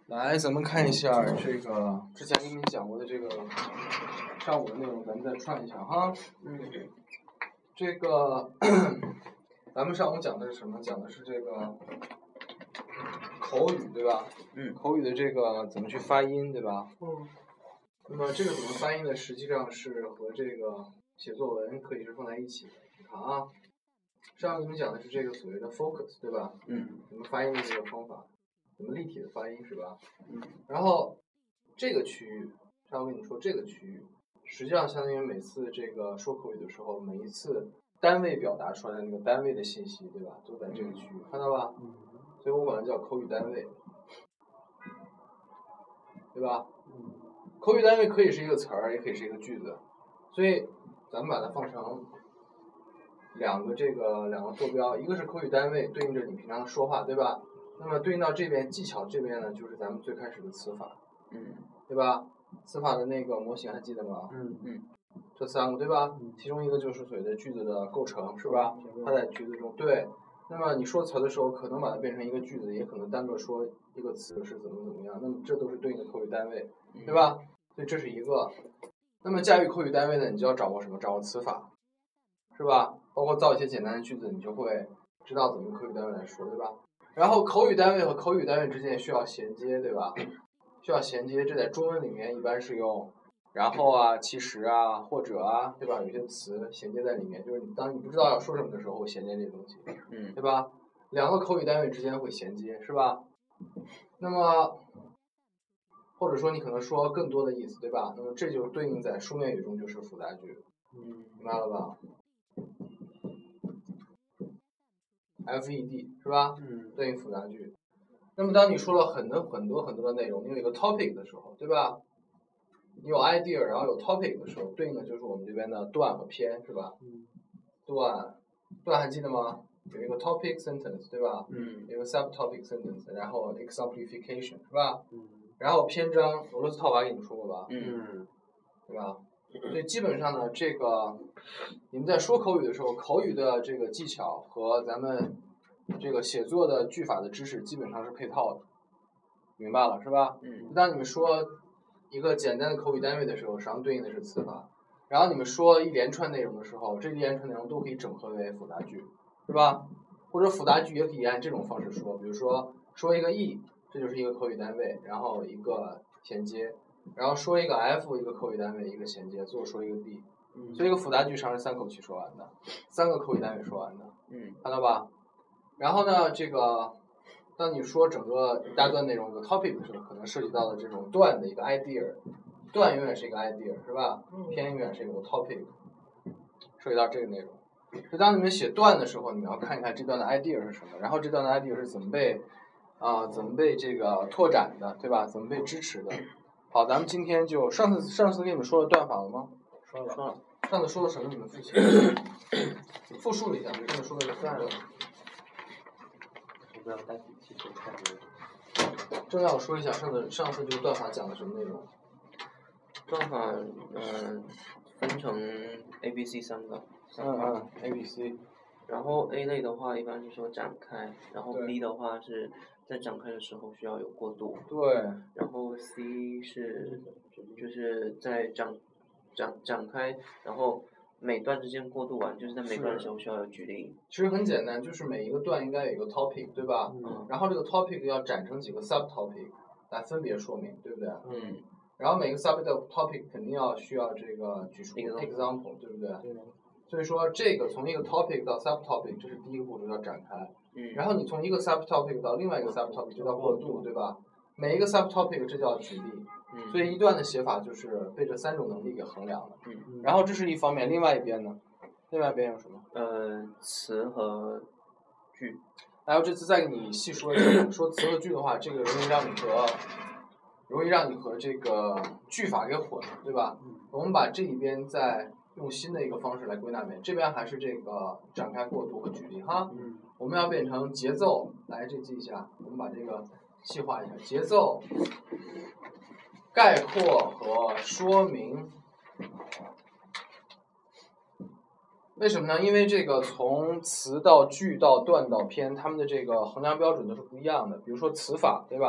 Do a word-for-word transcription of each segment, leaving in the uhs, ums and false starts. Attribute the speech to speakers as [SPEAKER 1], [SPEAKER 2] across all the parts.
[SPEAKER 1] 来，咱们看一下这个之前跟你讲过的这个上午的内容，咱们再串一下哈。嗯，这个咱们上午讲的是什么？讲的是这个口语，对吧？
[SPEAKER 2] 嗯，
[SPEAKER 1] 口语的这个怎么去发音，对吧？
[SPEAKER 2] 嗯。
[SPEAKER 1] 那么这个怎么发音呢？实际上是和这个写作文可以是放在一起的。你看啊，上午跟你讲的是这个所谓的 focus， 对吧？
[SPEAKER 2] 嗯。
[SPEAKER 1] 怎么发音的这个方法。怎么立体的发音是吧？
[SPEAKER 2] 嗯。
[SPEAKER 1] 然后这个区域，上午跟你说这个区域，实际上相当于每次这个说口语的时候，每一次单位表达出来的那个单位的信息，对吧？都在这个区域，看到吧？
[SPEAKER 2] 嗯。
[SPEAKER 1] 所以我管它叫口语单位，对吧？
[SPEAKER 2] 嗯。
[SPEAKER 1] 口语单位可以是一个词儿，也可以是一个句子，所以咱们把它放成两个这个两个坐标，一个是口语单位，对应着你平常说话，对吧？那么对应到这边技巧这边呢，就是咱们最开始的词法，
[SPEAKER 2] 嗯，
[SPEAKER 1] 对吧？词法的那个模型还记得吗？
[SPEAKER 2] 嗯嗯，
[SPEAKER 1] 这三个对吧？
[SPEAKER 2] 嗯，
[SPEAKER 1] 其中一个就是所谓的句子的构成，是吧？它在句子中对。那么你说词的时候，可能把它变成一个句子，也可能单个说一个词是怎么怎么样。那么这都是对应的口语单位，对吧？所以这是一个。那么驾驭口语单位呢，你就要掌握什么？掌握词法，是吧？包括造一些简单的句子，你就会知道怎么口语单位来说，对吧？然后口语单位和口语单位之间需要衔接，对吧？需要衔接，这在中文里面一般是用然后啊、其实啊、或者啊，对吧？有些词衔接在里面，就是你当你不知道要说什么的时候，会衔接这些东西，
[SPEAKER 2] 嗯，
[SPEAKER 1] 对吧？两个口语单位之间会衔接，是吧？那么或者说你可能说更多的意思，对吧？那么这就对应在书面语中就是复杂句，
[SPEAKER 2] 嗯，
[SPEAKER 1] 明白了吧？F E D 是吧？
[SPEAKER 2] 嗯，
[SPEAKER 1] 对应复杂句。那么当你说了很多很多很多的内容，你有一个 topic 的时候，对吧？你有 idea， 然后有 topic 的时候，对应的就是我们这边的段和篇，是吧？
[SPEAKER 2] 嗯，
[SPEAKER 1] 段，段还记得吗？有一个 topic sentence， 对吧？
[SPEAKER 2] 嗯，
[SPEAKER 1] 有一个 subtopic sentence， 然后 exemplification， 是吧？
[SPEAKER 2] 嗯，
[SPEAKER 1] 然后篇章，俄罗斯套娃给你们说过吧？
[SPEAKER 2] 嗯，
[SPEAKER 1] 对吧？所以基本上呢，这个你们在说口语的时候，口语的这个技巧和咱们这个写作的句法的知识基本上是配套的，明白了是吧？
[SPEAKER 2] 嗯。
[SPEAKER 1] 当你们说一个简单的口语单位的时候，实际上对应的是词法，然后你们说一连串内容的时候，这一连串内容都可以整合为复杂句，是吧？或者复杂句也可以按这种方式说，比如说说一个 e， 这就是一个口语单位，然后一个衔接。然后说一个 F， 一个口语单位，一个衔接，最后说一个 D， 所以一个复杂句上是三口气说完的，三个口语单位说完的，
[SPEAKER 2] 嗯，
[SPEAKER 1] 看到吧？然后呢，这个当你说整个一大段内容一个 topic 的时候，可能涉及到的这种段的一个 idea， 段永远是一个 idea， 是吧？篇永远是一个 topic， 涉及到这个内容。所以当你们写段的时候，你们要看一看这段的 idea 是什么，然后这段的 idea 是怎么被啊、呃、怎么被这个拓展的，对吧？怎么被支持的？好，咱们今天就上次上次跟你们说了段法了吗？
[SPEAKER 2] 说了说了。
[SPEAKER 1] 上次说了什么？你们复习复述了一下，上次说的是段了。
[SPEAKER 2] 我不要带笔记，就看
[SPEAKER 1] 正要我说一下上次上次这个段法讲的什么内容？
[SPEAKER 2] 段法，嗯、呃，分成 A、B、C 三个。
[SPEAKER 1] 嗯嗯 ，A、B、C。
[SPEAKER 2] 然后 A 类的话，一般是说展开，然后
[SPEAKER 1] 对
[SPEAKER 2] B 的话是在展开的时候需要有过渡。
[SPEAKER 1] 对。
[SPEAKER 2] 然后 C 是就是在展展展开，然后每段之间过渡完，就是在每段的时候需要有举例。
[SPEAKER 1] 其实很简单，就是每一个段应该有一个 topic， 对吧？
[SPEAKER 2] 嗯。
[SPEAKER 1] 然后这个 topic 要展成几个 subtopic 来分别说明，对不对？
[SPEAKER 2] 嗯。
[SPEAKER 1] 然后每个 subtopic 肯定要需要这个举出
[SPEAKER 2] example，
[SPEAKER 1] example， 对不对？
[SPEAKER 2] 对。
[SPEAKER 1] 所以说这个从一个 topic 到 subtopic， 这是第一个步骤，要展开。
[SPEAKER 2] 嗯。然
[SPEAKER 1] 后你从一个 subtopic 到另外一个 subtopic， 就叫过渡，对吧？每一个 subtopic 这叫举例。
[SPEAKER 2] 嗯。
[SPEAKER 1] 所以一段的写法就是被这三种能力给衡量了。
[SPEAKER 2] 嗯。
[SPEAKER 1] 然后这是一方面，另外一边呢？另外一边有什么？
[SPEAKER 2] 呃，词和句。
[SPEAKER 1] 然后这次再给你细说一下，说词和句的话，这个容易让你和容易让你和这个句法给混了，对吧？
[SPEAKER 2] 嗯。
[SPEAKER 1] 我们把这一边再用新的一个方式来归纳一遍，这边还是这个展开、过渡和举例哈。
[SPEAKER 2] 嗯。
[SPEAKER 1] 我们要变成节奏，来这记一下，我们把这个细化一下，节奏、概括和说明。为什么呢？因为这个从词到句到段到篇，它们的这个衡量标准都是不一样的。比如说词法，对吧？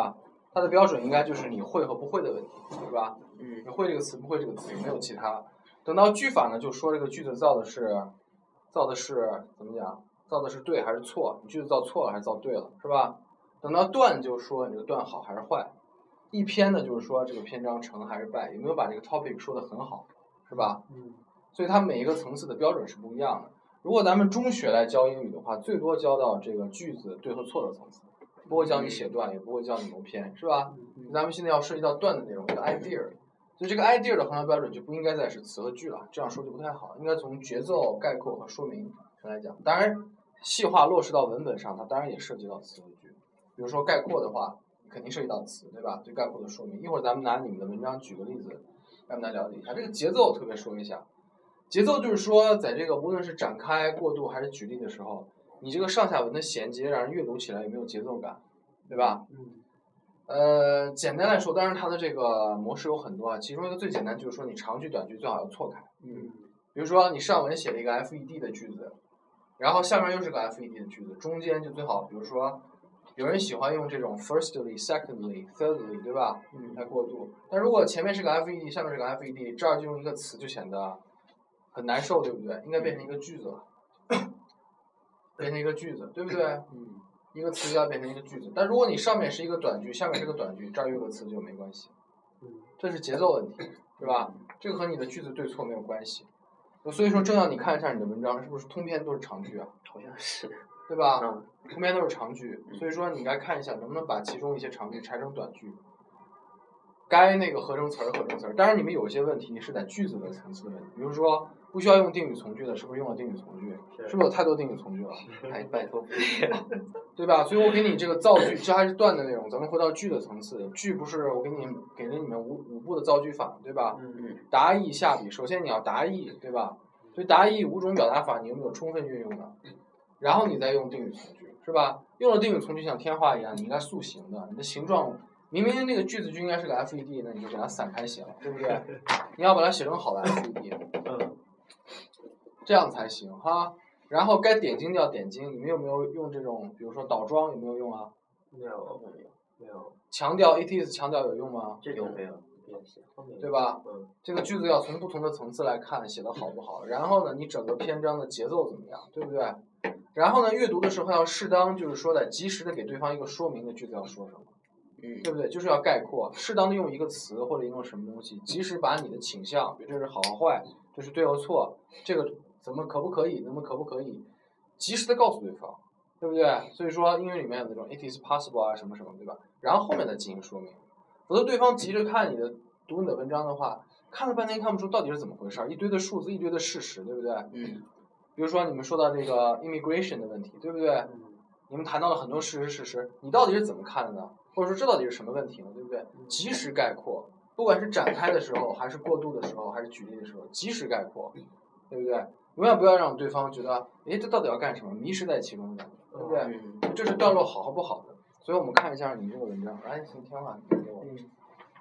[SPEAKER 1] 它的标准应该就是你会和不会的问题，是吧？
[SPEAKER 2] 嗯。
[SPEAKER 1] 你会这个词，不会这个词，没有其他。等到句法呢，就说这个句子造的是，造的是怎么讲？造的是对还是错？你句子造错了还是造对了，是吧？等到段就说你这个段好还是坏。一篇呢就是说这个篇章成还是败，有没有把这个 topic 说得很好，是吧？
[SPEAKER 3] 嗯。
[SPEAKER 1] 所以它每一个层次的标准是不一样的。如果咱们中学来教英语的话，最多教到这个句子对和错的层次，不会教你写段，也不会教你谋篇，是吧？咱们现在要涉及到段的内容，叫 idea， 所以这个 idea 的衡量标准就不应该再是词和句了，这样说就不太好，应该从节奏、概括和说明上来讲。当然，细化落实到文本上，它当然也涉及到词和句。比如说概括的话，肯定涉及到词，对吧？对概括的说明。一会儿咱们拿你们的文章举个例子，让大家了解一下这个节奏。特别说一下，节奏就是说，在这个无论是展开、过渡还是举例的时候，你这个上下文的衔接让人阅读起来有没有节奏感，对吧？
[SPEAKER 3] 嗯。
[SPEAKER 1] 呃，简单来说，当然它的这个模式有很多啊，其中一个最简单就是说，你长句短句最好要错开。
[SPEAKER 3] 嗯。
[SPEAKER 1] 比如说你上文写了一个 F E D 的句子，然后下面又是个 F E D 的句子，中间就最好，比如说有人喜欢用这种 firstly、secondly、thirdly， 对吧？
[SPEAKER 3] 嗯。
[SPEAKER 1] 来过渡。但如果前面是个 F E D， 下面是个 F E D， 这儿就用一个词就显得很难受，对不对？应该变成一个句子了，变成一个句子，对不对？
[SPEAKER 3] 嗯。
[SPEAKER 1] 一个词要变成一个句子，但如果你上面是一个短句，下面是个短句，这儿有个词就没关系。
[SPEAKER 3] 嗯。
[SPEAKER 1] 这是节奏问题，是吧？这个和你的句子对错没有关系。所以说，正要你看一下你的文章是不是通篇都是长句啊？
[SPEAKER 2] 好像是。
[SPEAKER 1] 对吧？
[SPEAKER 2] 嗯。
[SPEAKER 1] 通篇都是长句，所以说你应该看一下能不能把其中一些长句拆成短句。该那个合成词儿合成词儿，当然你们有一些问题是在句子的层次的问题，比如说不需要用定语从句的，是不是用了定语从句？是不是有太多定语从句了？
[SPEAKER 2] 哎，拜托，
[SPEAKER 1] 对吧？所以我给你这个造句，这还是段的内容，咱们回到句的层次。句不是我给你给了你们五五步的造句法，对吧？
[SPEAKER 2] 嗯。
[SPEAKER 1] 答意下笔，首先你要答意，对吧？所以答意五种表达法，你有没有充分运用的？然后你再用定语从句，是吧？用了定语从句像天花一样，你应该塑形的，你的形状。明明那个句子就应该是个 F E D， 那你就给它散开写了，对不对？你要把它写成好的 F E D，
[SPEAKER 3] 嗯，
[SPEAKER 1] 这样才行哈。然后该点睛就要点睛，你们有没有用这种，比如说倒装有没有用啊？
[SPEAKER 3] 没有，没有。
[SPEAKER 1] 强调 it is 强调有用吗？
[SPEAKER 2] 这种没有，
[SPEAKER 1] 对吧？
[SPEAKER 3] 嗯。
[SPEAKER 1] 这个句子要从不同的层次来看，写的好不好。然后呢，你整个篇章的节奏怎么样，对不对？然后呢，阅读的时候要适当，就是说的及时的给对方一个说明的句子要说什么。
[SPEAKER 2] 嗯，
[SPEAKER 1] 对不对？就是要概括，适当的用一个词或者用什么东西，及时把你的倾向，比如这是好和坏，这是对和错，这个怎么可不可以，怎么可不可以，及时的告诉对方，对不对？所以说英语里面有那种 it is possible 啊什么什么，对吧？然后后面再进行说明，否则对方急着看你的读你的文章的话，看了半天看不出到底是怎么回事，一堆的数字，一堆的事实，对不对？
[SPEAKER 2] 嗯。
[SPEAKER 1] 比如说你们说到这个 immigration 的问题，对不对？
[SPEAKER 3] 嗯。
[SPEAKER 1] 你们谈到了很多事实事实，你到底是怎么看的呢？或者说这到底是什么问题呢？对不对？及时概括，不管是展开的时候，还是过渡的时候，还是举例的时候，及时概括，对不对？永远不要让对方觉得，哎，这到底要干什么？迷失在其中的，对不对？
[SPEAKER 2] 嗯、
[SPEAKER 1] 这是段落好和不好的。所以我们看一下你这个文章，来，请天华给我。
[SPEAKER 3] 嗯。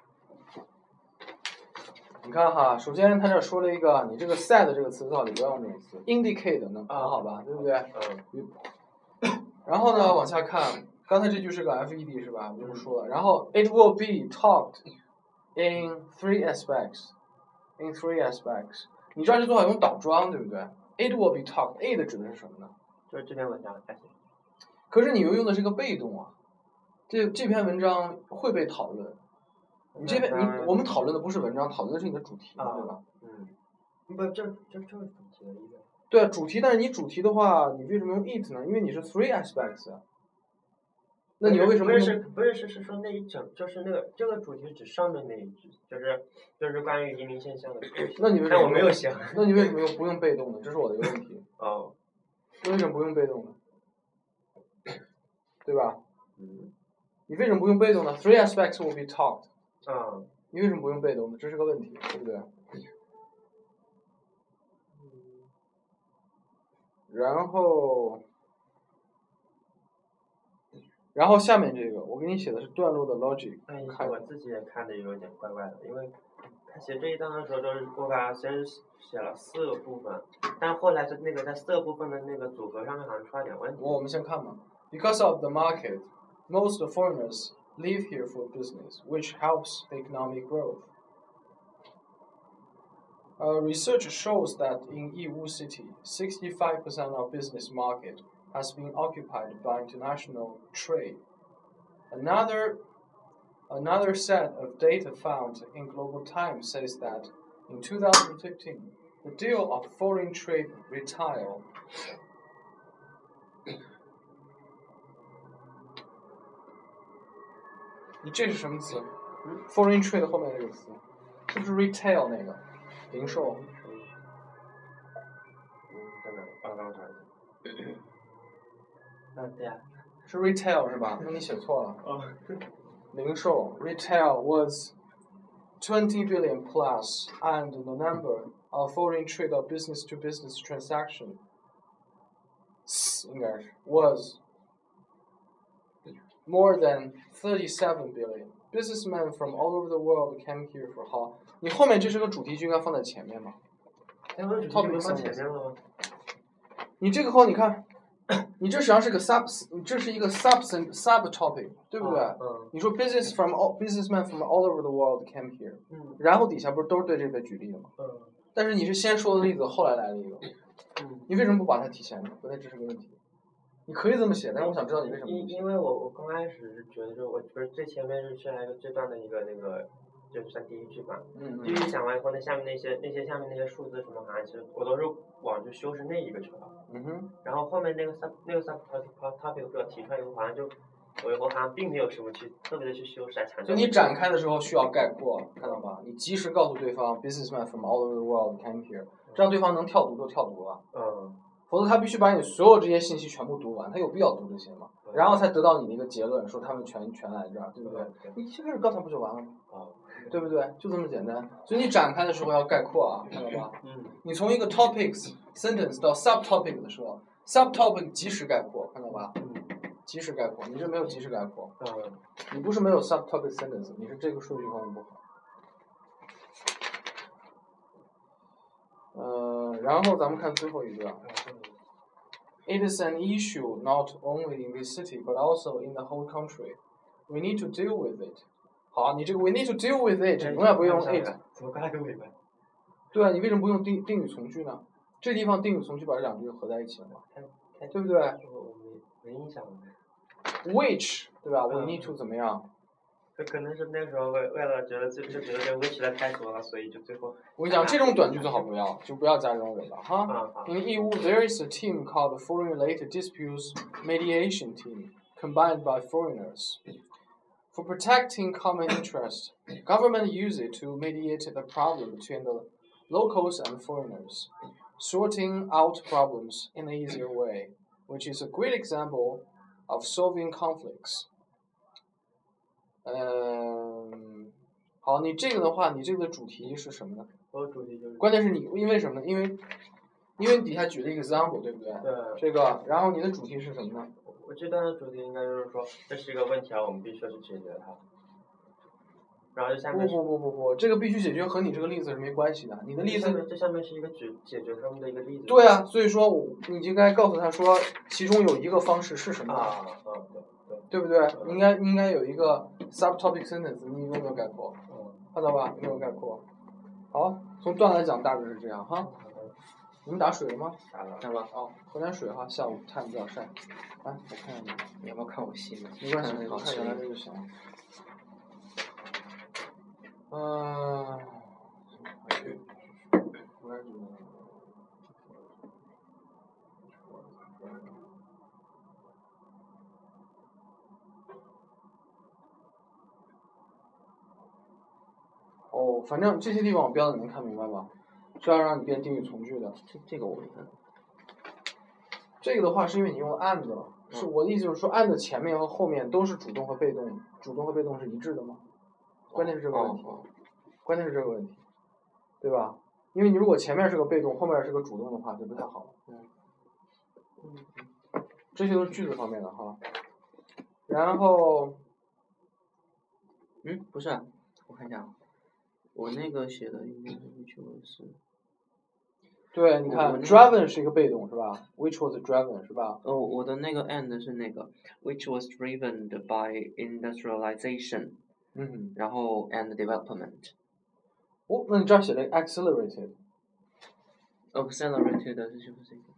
[SPEAKER 1] 你看哈，首先他这说了一个，你这个 sad 这个词到底不要用这种词 ，indicate 能很好吧？对不对？
[SPEAKER 3] 嗯。
[SPEAKER 1] 然后呢，往下看。刚才这句是个 F E D 是吧？我就说了，然后 it will be talked in three aspects, in three aspects。你这儿就最好用倒装，对不对 ？It will be talked, it 指的是什么呢？
[SPEAKER 3] 就是这篇文章。
[SPEAKER 1] 可是你又用的是个被动啊，这这篇文章会被讨论。你这边你我们讨论的不是文章，讨论的是你的主题，
[SPEAKER 3] 啊、
[SPEAKER 1] 对吧？
[SPEAKER 3] 嗯。不，这这这是主题的意思。
[SPEAKER 1] 对啊，主题，但是你主题的话，你为什么用 it 呢？因为你是 three aspects 啊。那你为什么
[SPEAKER 3] 不是不是是是说那一整就是那个这个主题指上面那一句，就是就是关于移民现象的主题。
[SPEAKER 1] 那你为什么？
[SPEAKER 3] 但我没有想。
[SPEAKER 1] 那你为什么用不用被动呢？这是我的一个问题。
[SPEAKER 3] 哦。
[SPEAKER 1] 为什么不用被动呢？对吧？
[SPEAKER 3] 嗯。
[SPEAKER 1] 你为什么不用被动呢 ？Three aspects will be talked。
[SPEAKER 3] 啊。
[SPEAKER 1] 你为什么不用被动呢？这是个问题，对不对？然后。然后下面这个，我给你写的是段落的 logic。
[SPEAKER 3] 哎，我自己也看的有点怪怪的，因为他写这一章的时候都是我把先写了四个部分，但后来是那个在四个部分的那个组合上面好像出了点问题。
[SPEAKER 1] 我们先看吧。Because of the market, most foreigners live here for business, which helps the economic growth. Uh, research shows that in Yiwu City, sixty-five percent of business market has been occupied by international trade. Another, another set of data found in Global Times says that in two thousand fifteen, the deal of foreign trade retail你这是什么词？嗯 ？Foreign trade 后面这个词，是不是 retail 那个零售？
[SPEAKER 3] 嗯，在哪？啊，刚查一下。嗯，对呀。
[SPEAKER 1] 是 retail 是吧？那你写错了。
[SPEAKER 3] 哦。
[SPEAKER 1] 零售 retail was twenty billion plus, and the number of foreign trade or business-to-business transaction 应该是 was more than thirty-seven billion. Businessmen from all over the world came here for 好，你后面这是个主题句应该放在前面嘛？
[SPEAKER 3] 哎，我主题句放前面了吗？
[SPEAKER 1] 你这个后你看，你这实际上是个 sub， 你这是一个 sub sub topic， 对不对？
[SPEAKER 3] 啊、嗯。
[SPEAKER 1] 你说 business from all businessmen from all over the world came here，
[SPEAKER 3] 嗯。
[SPEAKER 1] 然后底下不是都是对这个举例的吗？
[SPEAKER 3] 嗯。
[SPEAKER 1] 但是你是先说的例子，后来来了一个，
[SPEAKER 3] 嗯。
[SPEAKER 1] 你为什么不把它提前呢？不太这是个问题。你可以这么写，但是我想知道你为什么。
[SPEAKER 3] 因因为我我刚开始是觉得，就我不是最前面是先来一个这段的一个那个，就是算第一句嘛。
[SPEAKER 1] 嗯嗯。
[SPEAKER 3] 第一句讲完以后，那下面那些那些下面那些数字什么好像其实我都是往去修饰那一个去了。
[SPEAKER 1] 嗯哼。
[SPEAKER 3] 然后后面那个 sub 那个 sub topic 被我提出来以后，好像就我以后好像并没有什么去特别的去修饰啊强调。
[SPEAKER 1] 就你展开的时候需要概括，看到吧？你及时告诉对方 ，businessmen from all over the world came here， 这样对方能跳读就跳读了。
[SPEAKER 3] 嗯。
[SPEAKER 1] 否则他必须把你所有这些信息全部读完，他有必要读这些吗？然后才得到你的一个结论，说他们全全来这儿，对不对？你一开始告诉他不就完了吗？
[SPEAKER 3] 啊，
[SPEAKER 1] 对不对？就这么简单。所以你展开的时候要概括啊，看到吧？
[SPEAKER 3] 嗯。
[SPEAKER 1] 你从一个 topics sentence 到 subtopic 的时候 ，subtopic 及时概括，看到吧？
[SPEAKER 3] 嗯。
[SPEAKER 1] 及时概括，你这没有及时概括。
[SPEAKER 3] 嗯。
[SPEAKER 1] 你不是没有 subtopic sentence， 你是这个数据方面不好。呃，然后咱们看最后一个。It is an issue not only in this city but also in the whole country. We need to deal with it. 好，你这个 we need to deal with it 永远不用 it。
[SPEAKER 3] 怎么刚才跟尾巴？
[SPEAKER 1] 对啊，你为什么不用定定语从句呢？这地方定语从句把这两句合在一起了嘛？对不对？
[SPEAKER 3] 我没没印象了。
[SPEAKER 1] Which 对吧？ We need to 怎么样？
[SPEAKER 3] 这可能是那时候为为了觉得就就觉得这 which 来开头了，所以就最后。
[SPEAKER 1] 我跟你讲，这种短句最好不要，就不要加这种尾巴哈。In Yiwu, there is a team called the Foreign-Related Disputes Mediation Team, combined by foreigners. For protecting common interest, government use it to mediate the problem between the locals and foreigners, sorting out problems in an easier way, which is a great example of solving conflicts. 嗯，好，你这个的话，你这个的主题是什么呢？
[SPEAKER 3] 我主题就是。
[SPEAKER 1] 关键是你因为什么呢？因为，因为你底下举了一个 example， 对不对？
[SPEAKER 3] 对。
[SPEAKER 1] 这个，然后你的主题是什么呢？
[SPEAKER 3] 我这段的主题应该就是说，这是一个问题啊，我们必须要去解决它。然后这下面。
[SPEAKER 1] 不不不不不，这个必须解决和你这个例子是没关系的。你的例子。
[SPEAKER 3] 这下面是一个解解决他们的一个例子。
[SPEAKER 1] 对啊，所以说我你应该告诉他说，其中有一个方式是什么？
[SPEAKER 3] 啊啊对。
[SPEAKER 1] 对不对？应该应该有一个 subtopic sentence， 你有没有概括？看到吧？有没有概括？好，从段来讲大致是这样哈。你们打水了吗？
[SPEAKER 3] 打了。
[SPEAKER 1] 打了。哦，喝点水哈，下午太阳比较晒。来，我看看你。
[SPEAKER 2] 你要不要看我戏呢？
[SPEAKER 1] 没关系，我看原来这就行了。嗯。哦，反正这些地方我标的你能看明白吧？是要让你变定语从句的。
[SPEAKER 2] 这这个我没看。
[SPEAKER 1] 这个的话是因为你用了 and 了，嗯、是我的意思就是说 and 前面和后面都是主动和被动，主动和被动是一致的吗？关键是这个问题，
[SPEAKER 2] 哦哦、
[SPEAKER 1] 关键是这个问题，对吧？因为你如果前面是个被动，后面是个主动的话，就不太好了。嗯。嗯。这些都是句子方面的哈。然后，
[SPEAKER 2] 嗯，不是、啊，我看一下。我那个写的应该是
[SPEAKER 1] 对，你看
[SPEAKER 2] 我我那个
[SPEAKER 1] ，driven 是一个被动是吧 ？Which was driven 是吧？
[SPEAKER 2] 哦，我的那个 and 是那个 which was driven by industrialization，
[SPEAKER 1] 嗯，
[SPEAKER 2] 然后 and development。
[SPEAKER 1] 哦，那你这儿写了 accelerated，
[SPEAKER 2] accelerated 是不是这个？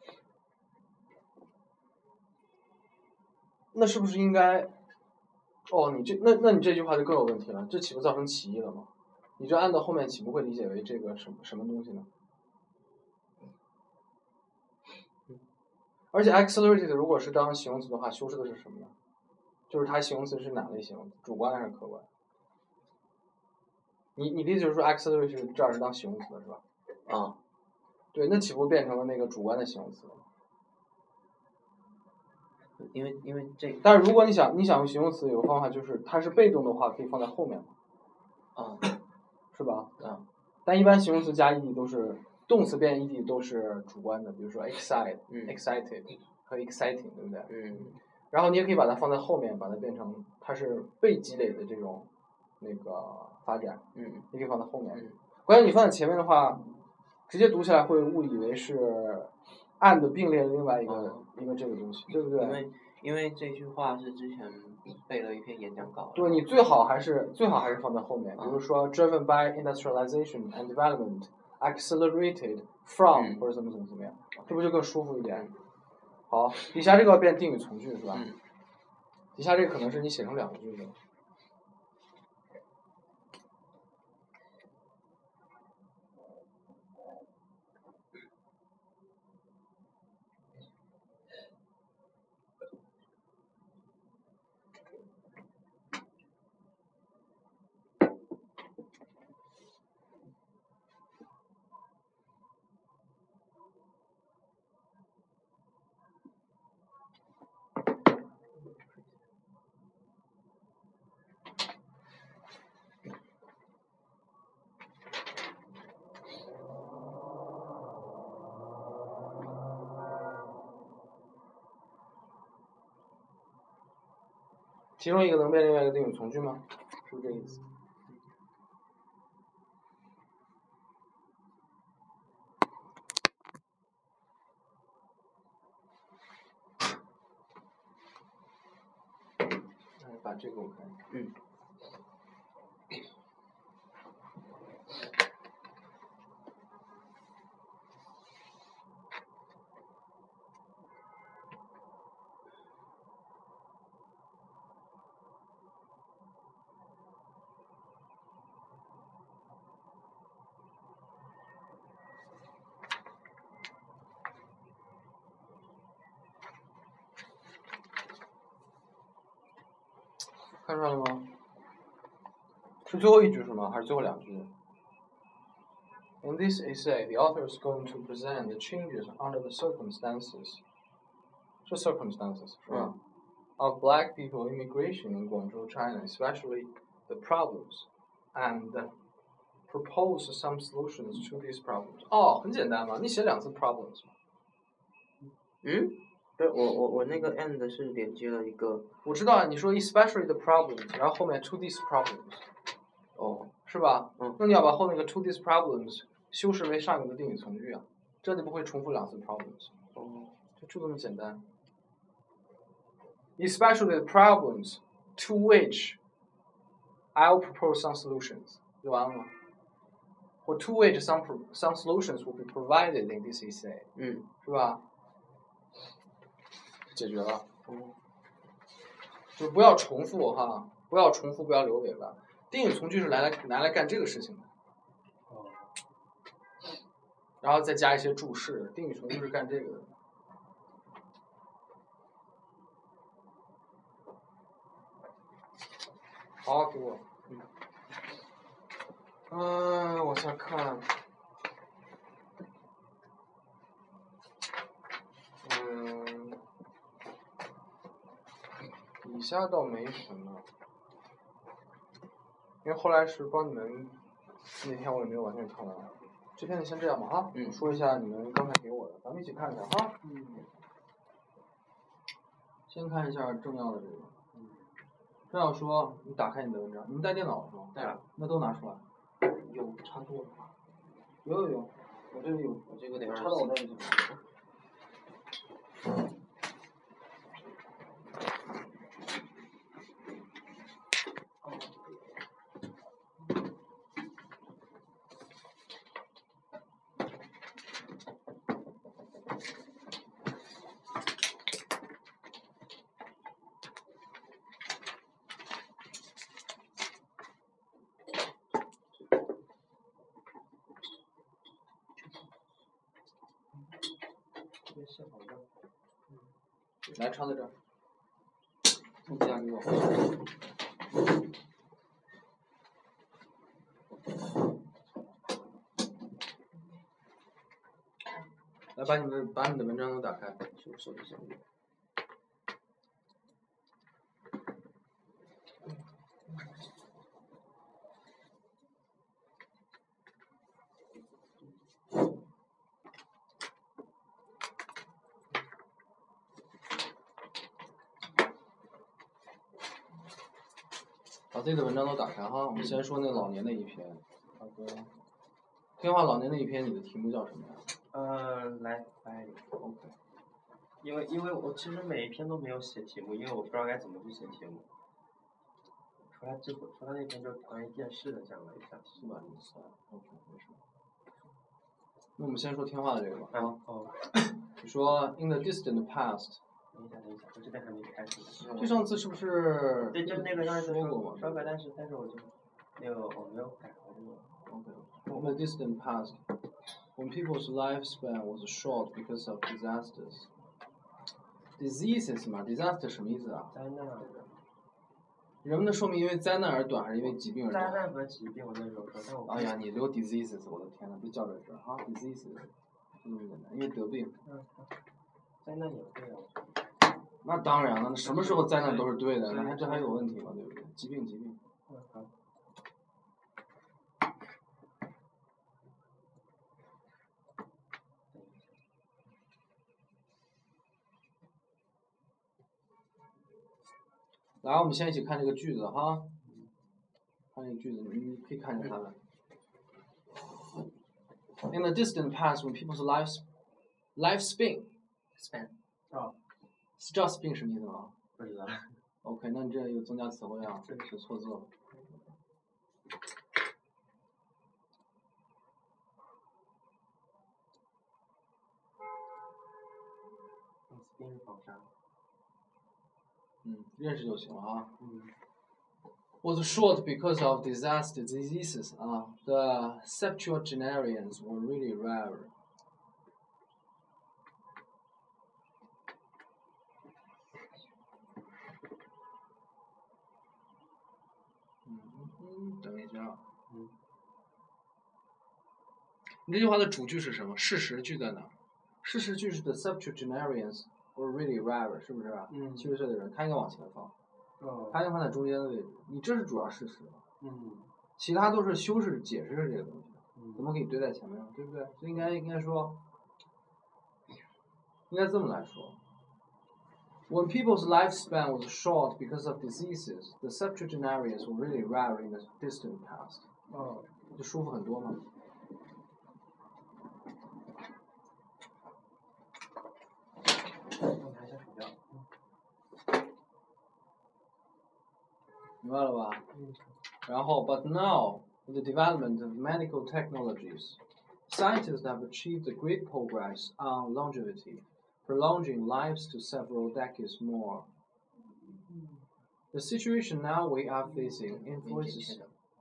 [SPEAKER 1] 那是不是应该？哦，你这那那你这句话就更有问题了，这岂不造成歧义了吗？你这按到后面岂不会理解为这个什么什么东西呢？而且 accelerated 如果是当形容词的话，修饰的是什么呢？就是它形容词是哪类形容词？主观还是客观？你你的意思就是说 accelerated 这儿是当形容词的是吧？
[SPEAKER 2] 啊，
[SPEAKER 1] 对，那岂不变成了那个主观的形容词了？
[SPEAKER 2] 因为因为这，
[SPEAKER 1] 但是如果你想你想用形容词，有个方法就是它是被动的话，可以放在后面嘛，
[SPEAKER 2] 啊，
[SPEAKER 1] 是吧？
[SPEAKER 2] 啊，
[SPEAKER 1] 但一般形容词加 ed 都是动词变 ed 都是主观的，比如说 excite、
[SPEAKER 2] 嗯
[SPEAKER 1] excited 和 exciting， 对不对？
[SPEAKER 2] 嗯
[SPEAKER 1] 然后你也可以把它放在后面，把它变成它是被积累的这种那个发展，
[SPEAKER 2] 嗯，
[SPEAKER 1] 你可以放在后面。
[SPEAKER 2] 嗯
[SPEAKER 1] 关键你放在前面的话，直接读起来会误以为是 and 并列另外一个、
[SPEAKER 2] 哦
[SPEAKER 1] 一个这个东西，对不对？
[SPEAKER 2] 因为因为这句话是之前背了一篇演讲稿。
[SPEAKER 1] 对，你最好还是最好还是放在后面，比如
[SPEAKER 2] 嗯
[SPEAKER 1] 说 driven by industrialization and development, accelerated from、
[SPEAKER 2] 嗯
[SPEAKER 1] 或者怎么怎么怎么样，这不就更舒服一点？好，底下这个要变定语从句是吧？
[SPEAKER 2] 嗯
[SPEAKER 1] 底下这个可能是你写成两个句子了。其中一个能变另外一个定语从句吗？是不是这个意思？来把这个我看一下。
[SPEAKER 2] 嗯。
[SPEAKER 1] 看出来了吗？是最后一句是吗？还是最后两句 ？In this essay, the author is going to present the changes under the circumstances. 这 circumstances 是吧、
[SPEAKER 2] 嗯、
[SPEAKER 1] ？Of black people immigration in Guangzhou, China, especially the problems, and propose some solutions to these problems. 哦，很简单嘛，你写两次 problems 嘛。
[SPEAKER 2] 嗯，对我我我那个 and 是连接了一个。
[SPEAKER 1] 我知道啊，你说 especially the problems， 然后后面 to these problems，
[SPEAKER 2] 哦，
[SPEAKER 1] 是吧？
[SPEAKER 2] 嗯。
[SPEAKER 1] 那你要把后那个 to these problems 修饰为上一个的定语从句啊，这就不会重复两次 problems。
[SPEAKER 2] 哦，
[SPEAKER 1] 就就这么简单。Especially the problems to which I'll propose some solutions， 就完了吗？或 to which some some solutions will be provided in this essay，
[SPEAKER 2] 嗯，
[SPEAKER 1] 是吧？解决了。
[SPEAKER 2] 嗯，
[SPEAKER 1] 就不要重复哈，不要重复，不要留尾巴。定语从句是拿来拿来干这个事情的。然后再加一些注释，定语从句是干这个的。好，给我。嗯，呃、我再看。嗯，以下倒没什么，因为后来是帮你们，那天我也没有完全看完。这篇就先这样吧哈，
[SPEAKER 2] 嗯，
[SPEAKER 1] 说一下你们刚才给我的，咱们一起看一下哈。嗯。先看一下重要的这个。嗯。正要说，你打开你的文章，你们带电脑是吗？
[SPEAKER 2] 带了。
[SPEAKER 1] 那都拿出来。
[SPEAKER 2] 有插座吗？
[SPEAKER 1] 有有有。 我这里有，
[SPEAKER 2] 我这个得
[SPEAKER 1] 插到我这里去。来，抄在这儿。你夹给我。来，把你们把你的文章都打开。
[SPEAKER 2] 手手机上面。
[SPEAKER 1] 把自己的文章都打开哈，我们先说那老年那一篇。好的。天化老年那一篇，你的题目叫什么呀？
[SPEAKER 3] 呃，来来 ，OK。因为因为我其实每一篇都没有写题目，因为我不知道该怎么去写题目。除了这除了那篇就是关于电视的讲了一下，
[SPEAKER 1] 是吧？你算 ，OK， 没事。那我们先说天化的这个吧。
[SPEAKER 3] 啊。哦。
[SPEAKER 1] 你说 in the distant past。
[SPEAKER 3] 等一下，等一下，我这边还没开始。
[SPEAKER 1] 就上次是不是？
[SPEAKER 3] 对，就那个上次
[SPEAKER 1] 说过嘛。
[SPEAKER 3] 说过，但是但是我就那个我没有改，我这个。
[SPEAKER 1] OK。In the distant past, when people's lifespan was short because of disasters. Diseases 嘛 ，disaster 什么意思啊？
[SPEAKER 3] 灾难。
[SPEAKER 1] 人们的寿命因为灾难而短，还是因为疾病而短？
[SPEAKER 3] 灾难和疾病，我那时候说，但我。
[SPEAKER 1] 哎呀，你留 diseases， 我的天呐，别叫这事啊 ，diseases， 嗯，因为得病。
[SPEAKER 3] 嗯。灾难也对啊。
[SPEAKER 1] 那当然了，什么时候灾难都是对的，那还这还有问题吗？对不对？疾病，疾病。
[SPEAKER 3] 嗯好。
[SPEAKER 1] 来，我们先一起看这个句子哈。看这个句子，你可以看一下它的。In the distant past, when people's lives lifespan
[SPEAKER 3] span 哦，
[SPEAKER 1] 知道 span 什么意思吗？
[SPEAKER 3] 不知道。
[SPEAKER 1] OK， 那你这有增加词汇啊，这是错字了。
[SPEAKER 3] span 是纺纱。
[SPEAKER 1] 嗯，认识就行了啊。
[SPEAKER 3] 嗯。
[SPEAKER 1] Was short because of disaster diseases 啊、uh, the septuagenarians were really rare. 嗯，等一下。
[SPEAKER 3] 嗯。
[SPEAKER 1] 你这句话的主句是什么？事实句在哪？事实句是 the septuagenarians were really rare， 是不是？
[SPEAKER 3] 嗯。
[SPEAKER 1] 七十岁的人，他应该往前放。
[SPEAKER 3] 哦。
[SPEAKER 1] 他应该放在中间的位置。你这是主要事实。
[SPEAKER 3] 嗯。
[SPEAKER 1] 其他都是修饰、解释这个东西。
[SPEAKER 3] 嗯。
[SPEAKER 1] 怎么给你堆在前面，对不对？所以应该应该说，应该这么来说。When people's lifespan was short because of diseases, the septuagenarians were really rare in the distant past.
[SPEAKER 3] 哦。
[SPEAKER 1] 就舒服很多嘛。
[SPEAKER 3] 我拿一下鼠标。
[SPEAKER 1] 明白了吧？
[SPEAKER 3] 嗯。
[SPEAKER 1] 然后 ，but now with the development of medical technologies, scientists have achieved a great progress on longevity, prolonging lives to several decades more. The situation now we are facing influences.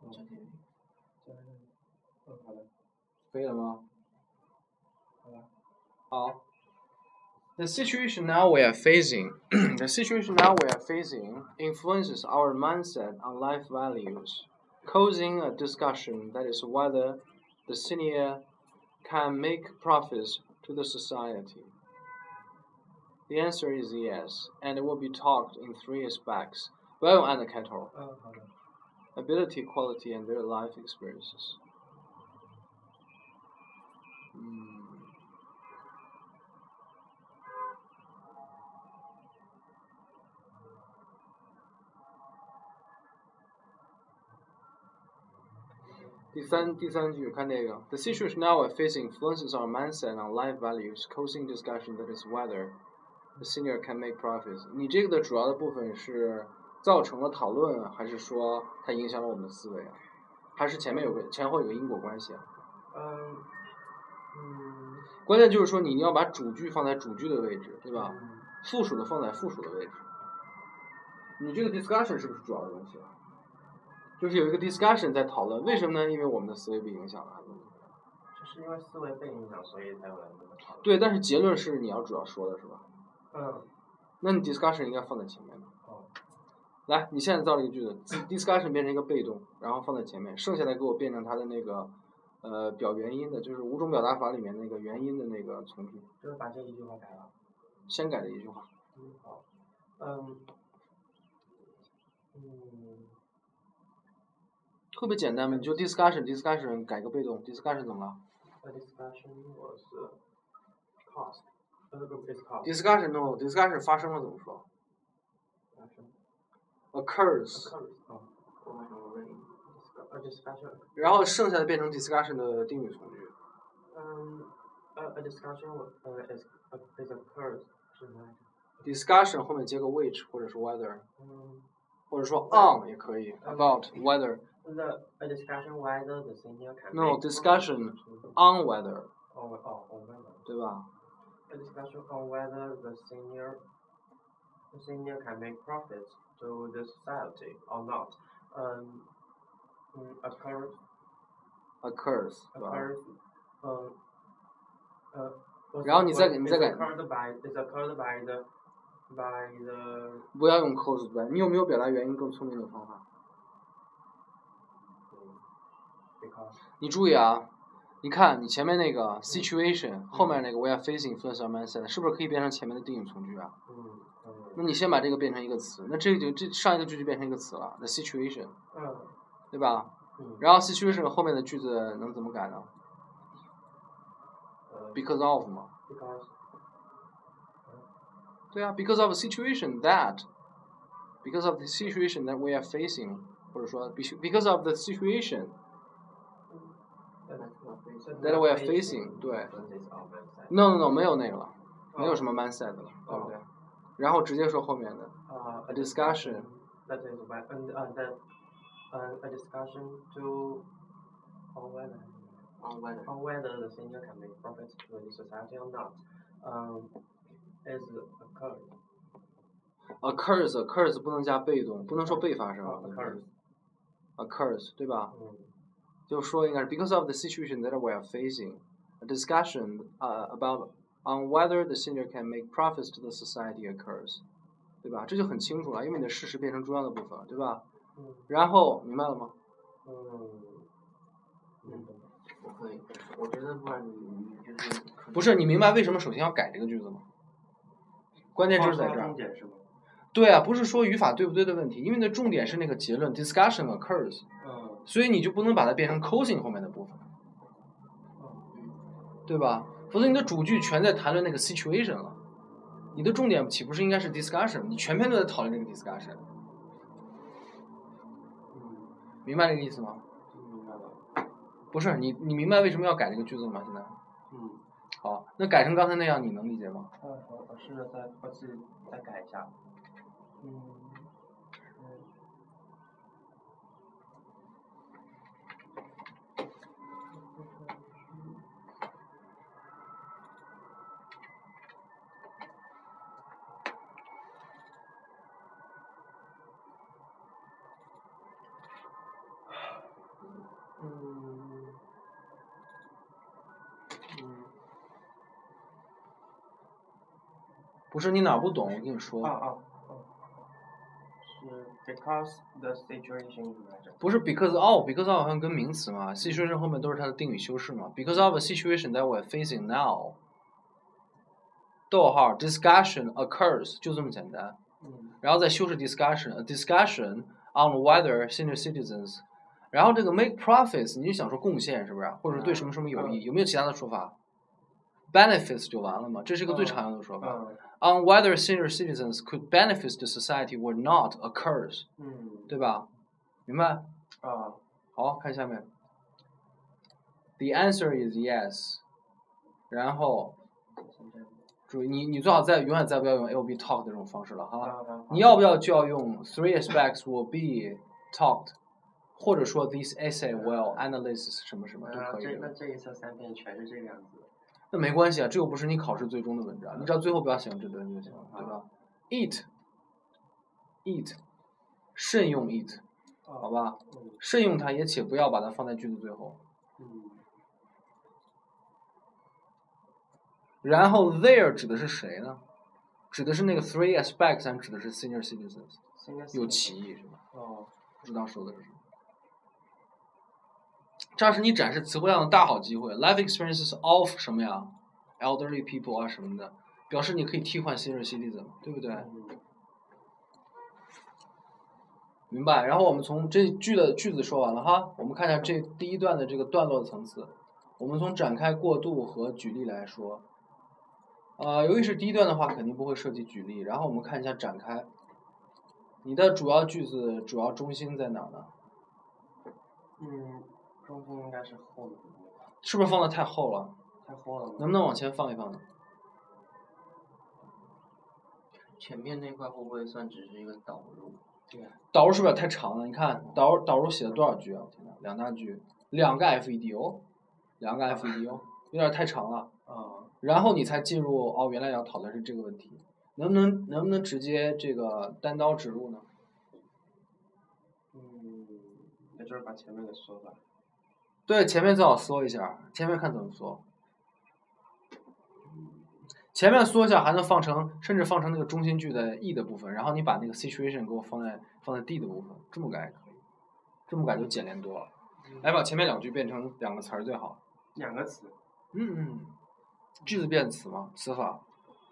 [SPEAKER 1] 可以了吗？
[SPEAKER 3] 好了。
[SPEAKER 1] 好。The situation now we are facing, the situation now we are facing influences our mindset on life values, causing a discussion that is whether the senior can make profits to the society. The answer is yes, and it will be talked in three aspects. 不要用and开头。
[SPEAKER 3] 嗯，好的。
[SPEAKER 1] Ability, quality, and their life experiences. 嗯。 第三第三句看这个 ，The situation now we're facing influences our mindset on life values, causing discussion that is whether the senior can make profits。你这个的主要的部分是造成了讨论，还是说它影响了我们的思维啊？还是前面有个前后有个因果关系啊？
[SPEAKER 3] 嗯嗯。
[SPEAKER 1] 关键就是说你要把主句放在主句的位置，对吧？
[SPEAKER 3] 嗯、
[SPEAKER 1] 附属的放在附属的位置。你这个 discussion 是不是主要的东西啊？就是有一个 discussion 在讨论，为什么呢？因为我们的思维被影响了。
[SPEAKER 3] 就是因为思维被影响，所以才有来这么讨论。
[SPEAKER 1] 对，但是结论是你要主要说的是吧？
[SPEAKER 3] 嗯。
[SPEAKER 1] 那你 discussion 应该放在前面的。
[SPEAKER 3] 哦。
[SPEAKER 1] 来，你现在造了一个句子 ，discussion 变成一个被动，然后放在前面，剩下的给我变成它的那个呃表原因的，就是五种表达法里面那个原因的那个从句。
[SPEAKER 3] 就是把这一句话改了。
[SPEAKER 1] 先改的一句话。
[SPEAKER 3] 嗯，好。嗯。嗯。
[SPEAKER 1] 特别简单嘛，你就 discussion discussion 改个被动 ，discussion 怎么了
[SPEAKER 3] ？A discussion was caused.
[SPEAKER 1] discussion no discussion 发生了怎么说 ？occurs。
[SPEAKER 3] A discussion.
[SPEAKER 1] 然后剩下的变成 discussion 的定语从句。
[SPEAKER 3] 嗯 ，a a discussion uh is is occurs 是吗
[SPEAKER 1] ？discussion 后面接个 which 或者是 whether。
[SPEAKER 3] 嗯。
[SPEAKER 1] 或者说 on 也可以 ，about whether。
[SPEAKER 3] The a discussion whether the senior can.
[SPEAKER 1] No discussion on whether.
[SPEAKER 3] On oh on whether.
[SPEAKER 1] 对吧
[SPEAKER 3] ？A discussion on whether the senior the senior can make profits to the society or not. Um, um occurs.
[SPEAKER 1] occurs 对吧
[SPEAKER 3] occurs. 嗯呃。
[SPEAKER 1] 然后你再你再改。
[SPEAKER 3] Is occurred by is occurred by the by the.
[SPEAKER 1] 不要用 caused by， 你有没有表达原因更聪明的方法？你注意啊，你看你前面那个 situation，、嗯、后面那个 we are facing influence our mindset， 是不是可以变成前面的定语从句啊？
[SPEAKER 3] 嗯嗯。
[SPEAKER 1] 那你先把这个变成一个词，那这个就这上一个句就变成一个词了 ，the situation，
[SPEAKER 3] 嗯，
[SPEAKER 1] 对吧？
[SPEAKER 3] 嗯。
[SPEAKER 1] 然后 situation 后面的句子能怎么改呢？
[SPEAKER 3] 呃
[SPEAKER 1] because of 嘛。
[SPEAKER 3] because。
[SPEAKER 1] 对啊 ，because of the situation that，because of the situation that we are facing， 或者说 because of the situation。That we are facing， 对 ，no no no 没有那个了，没有什么 mindset 了，对不对？然后直接说后面的 ，a discussion。
[SPEAKER 3] That is when and uh, that uh, a discussion to on whether
[SPEAKER 2] on whether
[SPEAKER 3] on whether the senior can make profits to the society or not, um, is occurred.
[SPEAKER 1] occurs occurs 不能加被动，不能说被发生。
[SPEAKER 3] occurs
[SPEAKER 1] occurs 对吧？
[SPEAKER 3] 嗯。
[SPEAKER 1] 就说应该是 because of the situation that we are facing, a discussion uh, about on whether the senior can make profits to the society occurs， 对吧？这就很清楚了，因为你的事实变成重要的部分了，对吧？
[SPEAKER 3] 嗯。
[SPEAKER 1] 然后明白了吗？
[SPEAKER 3] 嗯。
[SPEAKER 2] 嗯，我可以，我觉得不然你你就是。
[SPEAKER 1] 不是，你明白为什么首先要改这个句子吗？关键就是在这儿。
[SPEAKER 3] 重点是吗？
[SPEAKER 1] 对啊，不是说语法对不对的问题，因为你的重点是那个结论 discussion occurs。
[SPEAKER 3] 嗯。
[SPEAKER 1] 所以你就不能把它变成 causing 后面的部分，对吧？否则你的主句全在谈论那个 situation 了，你的重点岂不是应该是 discussion？ 你全篇都在讨论这个 discussion， 明白这个意思吗？
[SPEAKER 3] 明白了。
[SPEAKER 1] 不是你，你明白为什么要改这个句子吗？现在？
[SPEAKER 3] 嗯。
[SPEAKER 1] 好，那改成刚才那样，你能理解吗？
[SPEAKER 3] 嗯，我我试着再我自己再改一下。嗯。嗯，嗯，
[SPEAKER 1] 不是你哪不懂，我跟你说。
[SPEAKER 3] 啊啊啊！是 because the situation。
[SPEAKER 1] 不是 because of，because of 好像跟名词嘛 ，situation 后面都是它的定语修饰嘛。because of a situation that we're facing now， 逗号 discussion occurs 就这么简单。
[SPEAKER 3] 嗯。
[SPEAKER 1] 然后再修饰 discussion，a discussion on whether senior citizens。然后这个 make profits， 你就想说贡献是不是？或者对什么什么有益？有没有其他的说法 ？benefits 就完了嘛，这是一个最常用的说法。
[SPEAKER 3] 嗯、
[SPEAKER 1] On whether senior citizens could benefit the society or not occurs，
[SPEAKER 3] 嗯，
[SPEAKER 1] 对吧？明白？
[SPEAKER 3] 啊，
[SPEAKER 1] 好，看下面。 The answer is yes。然后，注意你你最好再永远再不要用 it will be talked 这种方式了哈。你要不要就要用 three aspects will be talked， 或者说 this essay will analyze 什么什么都可以。
[SPEAKER 3] 这那这一册三篇全是这个样子。
[SPEAKER 1] 那没关系啊，这又不是你考试最终的文章，你只要最后不要写这段就行了，对吧 ？Eat， eat， 慎用 eat， 好吧？慎用它，也且不要把它放在句子最后。然后 there 指的是谁呢？指的是那个 three aspects， 还指的是 senior citizens？ 有歧义是吧？
[SPEAKER 3] 哦，
[SPEAKER 1] 不知道说的是什么。这是你展示词汇量的大好机会 ，life experiences of 什么呀 ，elderly people 啊什么的，表示你可以替换 senior citizen， 对不对？明白。然后我们从这句的句子说完了哈，我们看一下这第一段的这个段落的层次。我们从展开、过渡和举例来说。呃，由于是第一段的话，肯定不会涉及举例。然后我们看一下展开。你的主要句子主要中心在哪儿呢？
[SPEAKER 3] 嗯，中心应该是后的。
[SPEAKER 1] 是不是放的太厚了？
[SPEAKER 3] 太厚了。
[SPEAKER 1] 能不能往前放一放呢？
[SPEAKER 2] 前面那块会不会算只是一个导入？
[SPEAKER 3] 对。
[SPEAKER 1] 导入是不是太长了？你看导导入写了多少句啊？天哪，两大句，两个 F E D 哦，两个 F E D 哦，有点太长了。
[SPEAKER 3] 啊。
[SPEAKER 1] 然后你才进入哦，原来要讨论是这个问题，能不能能不能直接这个单刀直入呢？
[SPEAKER 3] 嗯，那就是把前面给缩了。
[SPEAKER 1] 对，前面最好缩一下，前面看怎么缩。前面缩一下还能放成，甚至放成那个中心句的 E 的部分，然后你把那个 situation 给我放在放在 D 的部分，这么改也可以，这么改就简练多了。来把前面两句变成两个词儿最好。
[SPEAKER 3] 两个词。
[SPEAKER 1] 嗯嗯。句子变词嘛，词法。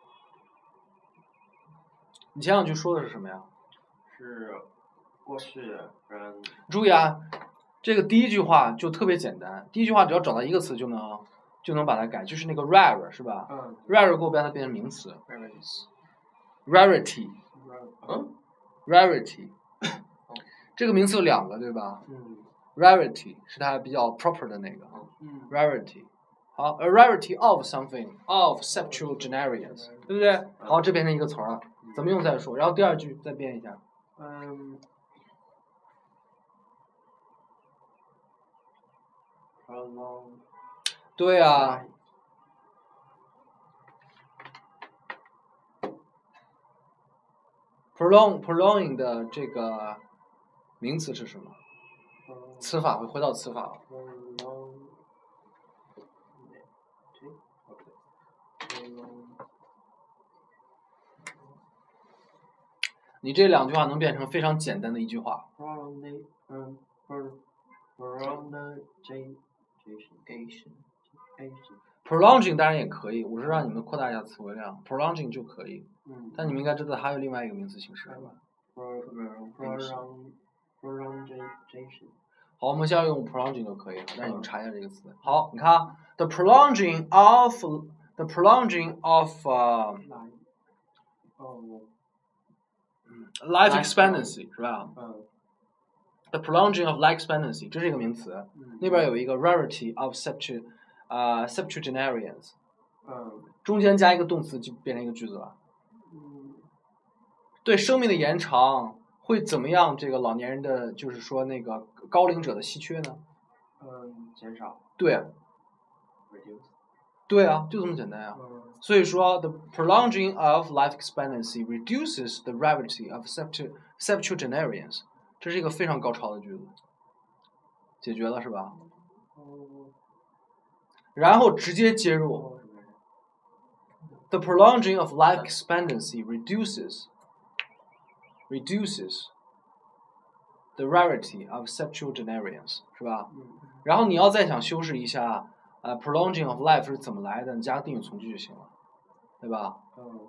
[SPEAKER 1] 你前两句说的是什么呀？
[SPEAKER 3] 是过去，嗯。
[SPEAKER 1] 注意啊，这个第一句话就特别简单，第一句话只要找到一个词就能就能把它改，就是那个 rare 是吧？
[SPEAKER 3] 嗯。
[SPEAKER 1] rare 给我把它变成名词。
[SPEAKER 2] rarities。
[SPEAKER 1] rarity。
[SPEAKER 2] 嗯
[SPEAKER 1] rarity。这个名词有两个对吧？
[SPEAKER 3] 嗯。
[SPEAKER 1] rarity 是它比较 proper 的那个。
[SPEAKER 3] 嗯。
[SPEAKER 1] rarity。好 ，a rarity of something of septuagenarians， 对不对？好，这变成一个词儿了，怎么用再说。然后第二句再变一下。
[SPEAKER 3] 嗯。prolong。
[SPEAKER 1] 对啊。prolong prolonging 的这个名词是什么？词法，回到词法。你这两句话能变成非常简单的一句话。prolonging 当然也可以，我是让你们扩大一下词汇量 ，prolonging 就可以。
[SPEAKER 3] 嗯。
[SPEAKER 1] 但你们应该知道还有另外一个名词形式，是吧？好，我们现在用 prolonging 就可以了，让你们查一下这个词。好，你看 ，the prolonging of the prolonging of 呃、uh, ，life expectancy 是吧？
[SPEAKER 3] 嗯。
[SPEAKER 1] the prolonging of life expectancy 这是一个名词，
[SPEAKER 3] 嗯、
[SPEAKER 1] 那边有一个 rarity of septu 啊、uh, septuagenarians，
[SPEAKER 3] 嗯，
[SPEAKER 1] 中间加一个动词就变成一个句子了。
[SPEAKER 3] 嗯，
[SPEAKER 1] 对生命的延长会怎么样？这个老年人的就是说那个高龄者的稀缺呢？
[SPEAKER 3] 嗯，减少。
[SPEAKER 1] 对。
[SPEAKER 3] reduce。
[SPEAKER 1] 对啊，就这么简单啊。
[SPEAKER 3] 嗯、
[SPEAKER 1] 所以说 ，the prolonging of life expectancy reduces the rarity of septu septuagenarians。这是一个非常高超的句子，解决了是吧？
[SPEAKER 3] 嗯、
[SPEAKER 1] 然后直接接入 ，the prolonging of life expectancy reduces reduces the rarity of septuagenarians， 是吧？
[SPEAKER 3] 嗯、
[SPEAKER 1] 然后你要再想修饰一下，呃 ，prolonging of life 是怎么来的，你加个定语从句就行了，对吧？
[SPEAKER 3] 嗯。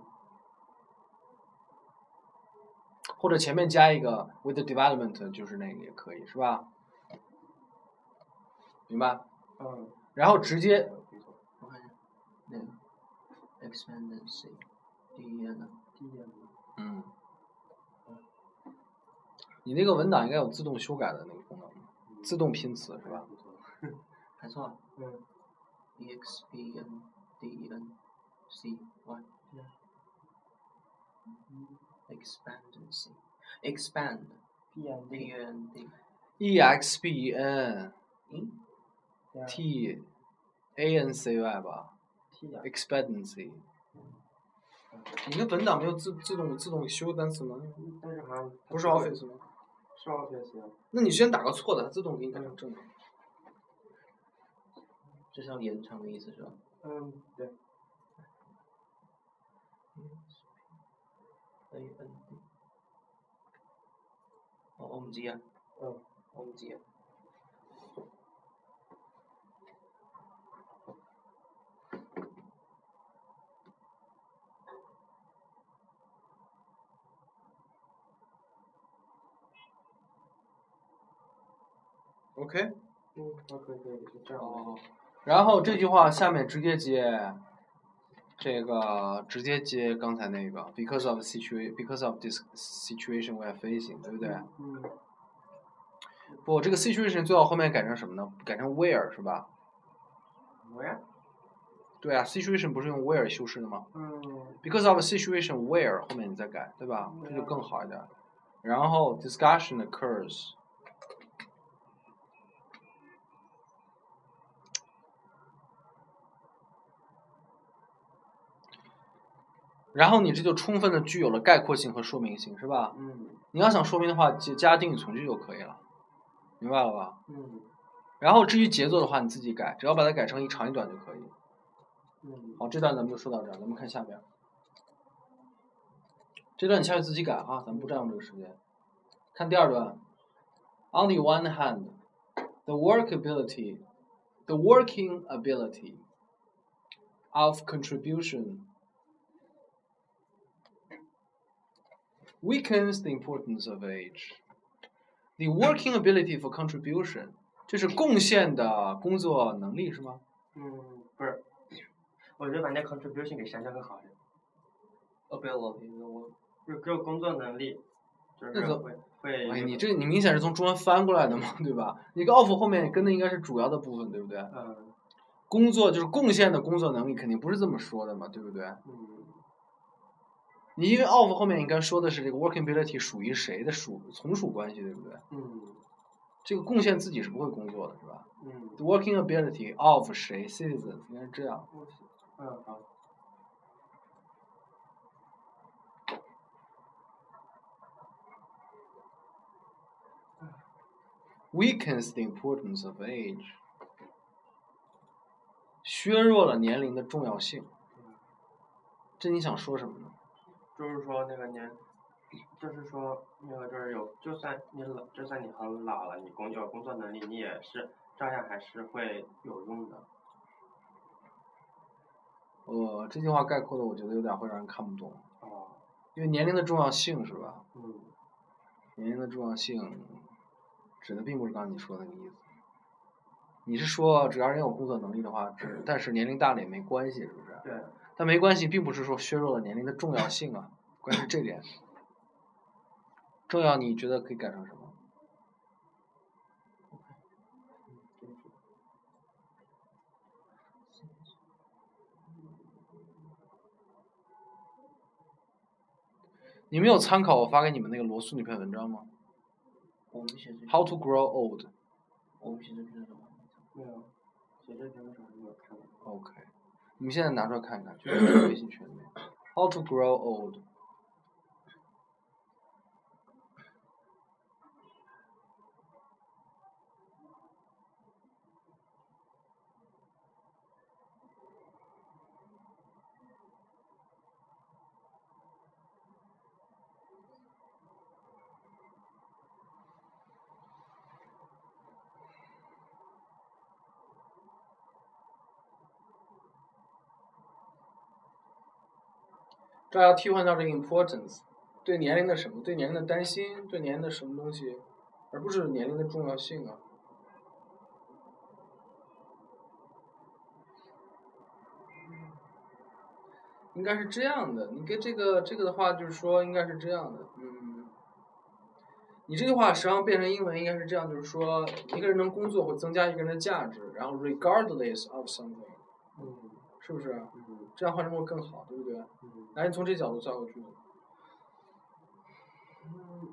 [SPEAKER 1] 或者前面加一个 with the development 就是那个也可以，是吧？明白？
[SPEAKER 3] 嗯。
[SPEAKER 1] 然后直接，
[SPEAKER 2] 我看一下，那个 expectancy 第一页呢？
[SPEAKER 3] 第一页呢？
[SPEAKER 1] 嗯。你那个文档应该有自动修改的那个功能，自动拼词是吧？
[SPEAKER 2] 还错啊。
[SPEAKER 3] 嗯。
[SPEAKER 2] E X P N D E N C Y。Expandency。expand。
[SPEAKER 3] P N D。
[SPEAKER 2] P N D。
[SPEAKER 1] E X P E N。
[SPEAKER 2] 嗯。
[SPEAKER 1] T A N C Y 吧。
[SPEAKER 3] T 啊。
[SPEAKER 1] Expectancy。你的文档没有自自动自动修单词吗？
[SPEAKER 3] 但是好像
[SPEAKER 1] 不是 Office 吗？
[SPEAKER 3] 是 Office 啊。
[SPEAKER 1] 那你先打个错的，它自动给你改成正的。
[SPEAKER 2] 这是要延长的意思是吧？
[SPEAKER 3] 嗯，对。
[SPEAKER 2] A N D。哦，我唔知啊。
[SPEAKER 3] 嗯，
[SPEAKER 2] 我唔知啊。
[SPEAKER 1] OK。
[SPEAKER 3] 嗯，可以可以，就这样。
[SPEAKER 1] 哦。然后这句话下面直接接，这个直接接刚才那个 because of situation because of this situation we are facing， 对不对？
[SPEAKER 3] 嗯。
[SPEAKER 1] 不，这个 situation 最好后面改成什么呢？改成 where 是吧
[SPEAKER 3] ？Where？
[SPEAKER 1] 对啊 ，situation 不是用 where 修饰的吗？
[SPEAKER 3] 嗯。
[SPEAKER 1] because of situation where 后面你再改，对吧？这就更好一点。然后 discussion occurs。然后你这就充分的具有了概括性和说明性，是吧？
[SPEAKER 3] 嗯。
[SPEAKER 1] 你要想说明的话，加定语从句就可以了，明白了吧？
[SPEAKER 3] 嗯。
[SPEAKER 1] 然后至于节奏的话，你自己改，只要把它改成一长一短就可以。
[SPEAKER 3] 嗯。
[SPEAKER 1] 好，这段咱们就说到这儿，咱们看下边。这段你下去自己改啊，咱们不占用这个时间。看第二段。On the one hand, the workability, the working ability of contribution weakens the importance of age. The working ability for contribution， 这是贡献的工作能力是吗？
[SPEAKER 3] 嗯，不是，我觉得把那 contribution 给删掉更好一点。
[SPEAKER 2] ability， 我
[SPEAKER 3] 就只有工作能力，就是会会。
[SPEAKER 1] 哎，你这你明显是从中文翻过来的嘛，对吧？你个 of 后面跟的应该是主要的部分，对不对？
[SPEAKER 3] 嗯。
[SPEAKER 1] 工作就是贡献的工作能力，肯定不是这么说的嘛，对不对？
[SPEAKER 3] 嗯。
[SPEAKER 1] 你因为 of 后面应该说的是这个 working ability 属于谁的属从属关系，对不对？
[SPEAKER 3] 嗯。
[SPEAKER 1] 这个贡献自己是不会工作的，是吧？
[SPEAKER 3] 嗯。
[SPEAKER 1] The working ability of 谁 citizens 应该是这样。
[SPEAKER 3] 嗯，好。
[SPEAKER 1] Weakens the importance of age， 削弱了年龄的重要性。这你想说什么呢？
[SPEAKER 3] 就是说那个年，就是说那个就是有，就算你老，就算你很老了，你工有工作能力，你也是照样还是会有用的。
[SPEAKER 1] 呃，这句话概括的我觉得有点会让人看不懂。
[SPEAKER 3] 哦。
[SPEAKER 1] 因为年龄的重要性是吧？
[SPEAKER 3] 嗯。
[SPEAKER 1] 年龄的重要性，指的并不是刚才你说的那个意思。你是说只要人有工作能力的话，只但是年龄大了也没关系，是不是？
[SPEAKER 3] 对。
[SPEAKER 1] 但没关系，并不是说削弱了年龄的重要性啊，关键是这点。重要你觉得可以改成什么？你们有参考我发给你们那个罗素那篇文章吗？
[SPEAKER 2] 我们写这
[SPEAKER 1] How to grow old。
[SPEAKER 2] 我们写这篇是什么？
[SPEAKER 3] 没有，写这篇的时候没有看过。
[SPEAKER 1] OK， 你们现在拿出来看看，就是微信群里面。How to grow old。这要替换掉这个 importance， 对年龄的什么？对年龄的担心，对年龄的什么东西，而不是年龄的重要性啊。应该是这样的，你跟这个这个的话就是说应该是这样的，嗯你这句话实际上变成英文应该是这样，就是说一个人能工作会增加一个人的价值，然后 regardless of something，
[SPEAKER 3] 嗯，
[SPEAKER 1] 是不是？
[SPEAKER 3] 嗯，
[SPEAKER 1] 这样换成会更好，对不对？
[SPEAKER 3] 嗯，
[SPEAKER 1] 来，你从这角度造个句子。
[SPEAKER 3] 嗯，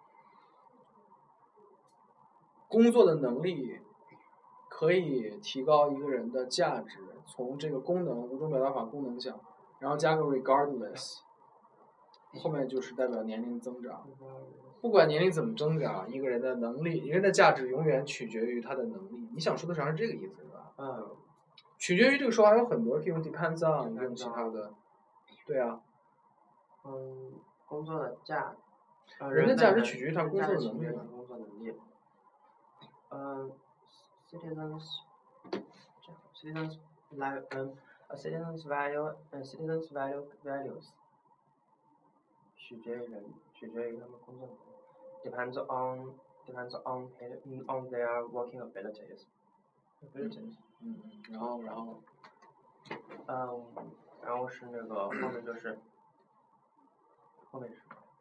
[SPEAKER 1] 工作的能力可以提高一个人的价值，从这个功能五种表达法功能讲，然后加个 regardless， 后面就是代表年龄增长。不管年龄怎么增长，一个人的能力，一个人的价值永远取决于他的能力。你想说的实际上是这个意思，是吧？
[SPEAKER 3] 嗯，
[SPEAKER 1] 取决于这个说法有很多，可以用 depends on， 用其他的。对啊。
[SPEAKER 3] 嗯，工作的价，呃，
[SPEAKER 1] 人的价值取
[SPEAKER 3] 决
[SPEAKER 1] 决于他工作的能力。
[SPEAKER 3] 工作能力。嗯 ，citizens， citizens live，嗯 ，a citizens value， 呃 ，citizens value values， 取决于人，取决于他们工作能力。Depends on depends on on their working abilities. abilities.
[SPEAKER 1] 嗯嗯，然后然后，
[SPEAKER 3] 嗯，然后是那个后面就是后面是。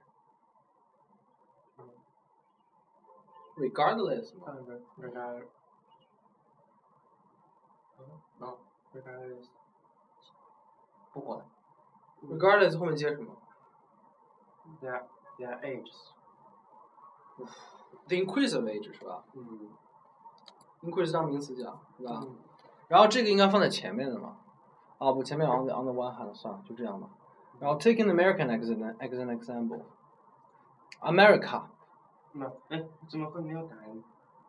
[SPEAKER 1] regardless 嘛。
[SPEAKER 3] 嗯 regard。
[SPEAKER 1] 啊
[SPEAKER 3] regardless。
[SPEAKER 1] 不管。regardless 后面接什么
[SPEAKER 3] ？Their their ages。
[SPEAKER 1] the increase of age 是吧？
[SPEAKER 3] 嗯。
[SPEAKER 1] increase 当名词讲，是吧？
[SPEAKER 3] 嗯。
[SPEAKER 1] 然后这个应该放在前面的嘛？啊不，前面 on the on the one hand 算了，就这样吧。然后 taking American as an as an example，America。
[SPEAKER 3] 那哎，怎么会没有答案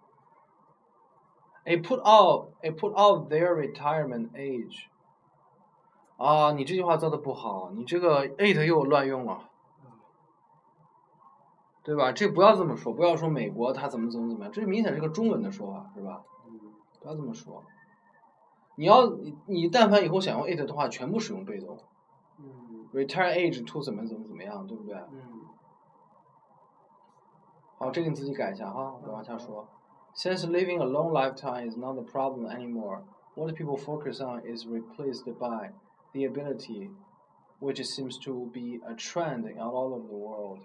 [SPEAKER 1] ？A put out a put out their retirement age。啊，你这句话造的不好，你这个 it 又乱用了。对吧？这不要这么说，不要说美国它怎么怎么怎么样，这明显是个中文的说法，是吧？
[SPEAKER 3] 嗯。
[SPEAKER 1] 不要这么说。你要你你但凡以后想用 it 的话，全部使用被动。
[SPEAKER 3] 嗯。
[SPEAKER 1] retire age to 怎么怎么怎么样，对不对？
[SPEAKER 3] 嗯。
[SPEAKER 1] 好，这个你自己改一下哈，我往下说。Since living a long lifetime is not a problem anymore, what people focus on is replaced by the ability, which seems to be a trend in all over the world.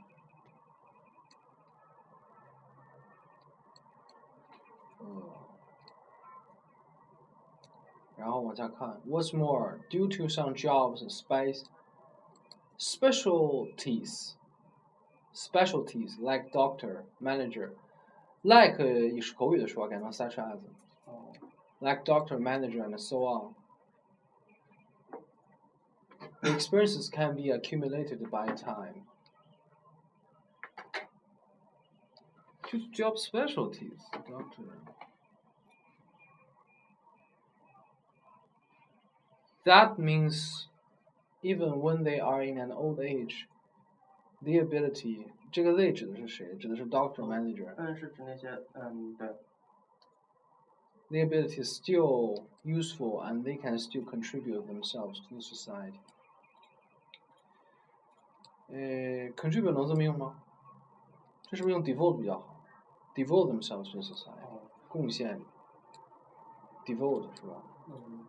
[SPEAKER 1] 然后往下看 ，What's more, due to some jobs, space specialties, specialties like doctor, manager, like 也是口语的说法，改成 such as, like doctor, manager, and so on. The experiences can be accumulated by time. Choose job specialties, doctor. That means even when they are in an old age, the ability 这个 they 指的是谁？指的是 doctor manager。
[SPEAKER 3] 嗯，是指那些嗯对。
[SPEAKER 1] The ability is still useful and they can still contribute themselves to the society. 呃 ，contribute 能这么用吗？这是不是用 devote 比较好 ？devote themselves to the society，、哦、贡献 ，devote 是吧？
[SPEAKER 3] 嗯。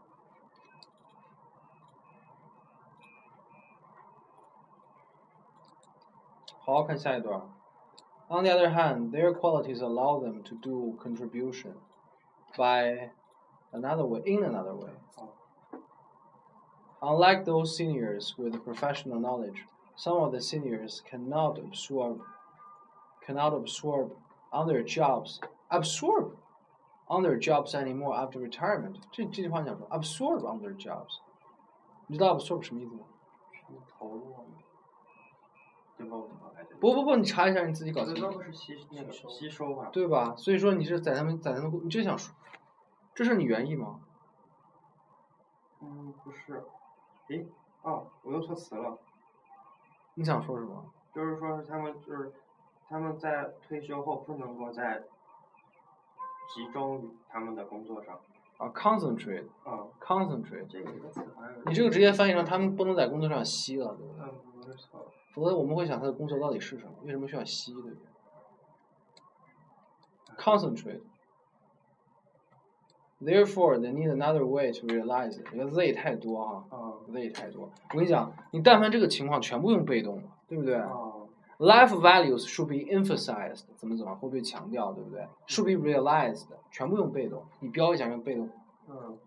[SPEAKER 1] 好，看下一段。On the other hand, their qualities allow them to do contribution by another way, in another way. Unlike those seniors with professional knowledge, some of the seniors cannot absorb, cannot absorb on their jobs, absorb on their jobs anymore after retirement. 这这句话讲说 absorb on their jobs， 你知道 absorb 什么意思吗？
[SPEAKER 3] 投入。
[SPEAKER 1] 不不不，你查一下，你自己搞清楚。
[SPEAKER 3] 不是吸那个吸收吧？
[SPEAKER 1] 对吧？所以说你是在他们在他们，你就想说，这是你原意吗？
[SPEAKER 3] 嗯，不是。诶，哦，我用错词了。
[SPEAKER 1] 你想说什么？
[SPEAKER 3] 就是说是他们就是他们在退休后不能够再集中于他们的工作上。
[SPEAKER 1] 啊 ，concentrate。
[SPEAKER 3] 啊
[SPEAKER 1] ，concentrate。
[SPEAKER 3] 这个词好像。
[SPEAKER 1] 你这个直接翻译成他们不能在工作上吸了，对不对？
[SPEAKER 3] 嗯，不是错。
[SPEAKER 1] 否则我们会想他的工作到底是什么？为什么需要吸，对不对 ？Concentrate. Therefore, they need another way to realize it. 这个 they 太多啊，
[SPEAKER 3] 嗯
[SPEAKER 1] ，they 太多。我跟你讲，你但凡这个情况全部用被动了，对不对？
[SPEAKER 3] 嗯
[SPEAKER 1] Life values should be emphasized， 怎么怎么会被强调，对不对 ？Should be realized， 全部用被动，你标一下用被动。
[SPEAKER 3] 嗯。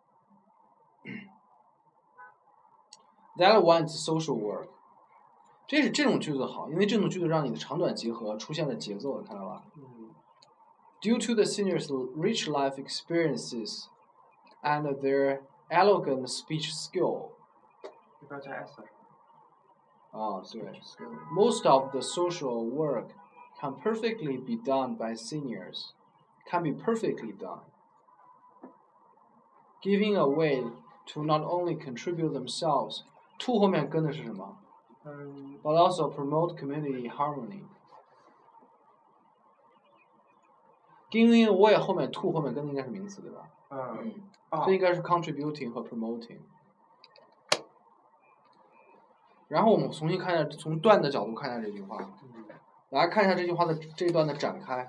[SPEAKER 1] That wants social work， 这是这种句子好，因为这种句子让你的长短结合出现了节奏，看到吧？
[SPEAKER 3] 嗯。
[SPEAKER 1] Due to the seniors' rich life experiences and their elegant speech skill，
[SPEAKER 3] 这边加 s。
[SPEAKER 1] 啊，对。Most of the social work can perfectly be done by seniors. Can be perfectly done. Giving away to not only contribute themselves, to 后面跟的是什么？
[SPEAKER 3] 嗯。
[SPEAKER 1] But also promote community harmony. Giving away 后面 to 后面跟的应该是名词对吧？
[SPEAKER 3] 嗯。
[SPEAKER 1] 这应该是 contributing 和 promoting。然后我们重新看一下，从段的角度看一下这句话。
[SPEAKER 3] 嗯。
[SPEAKER 1] 来看一下这句话的这一段的展开，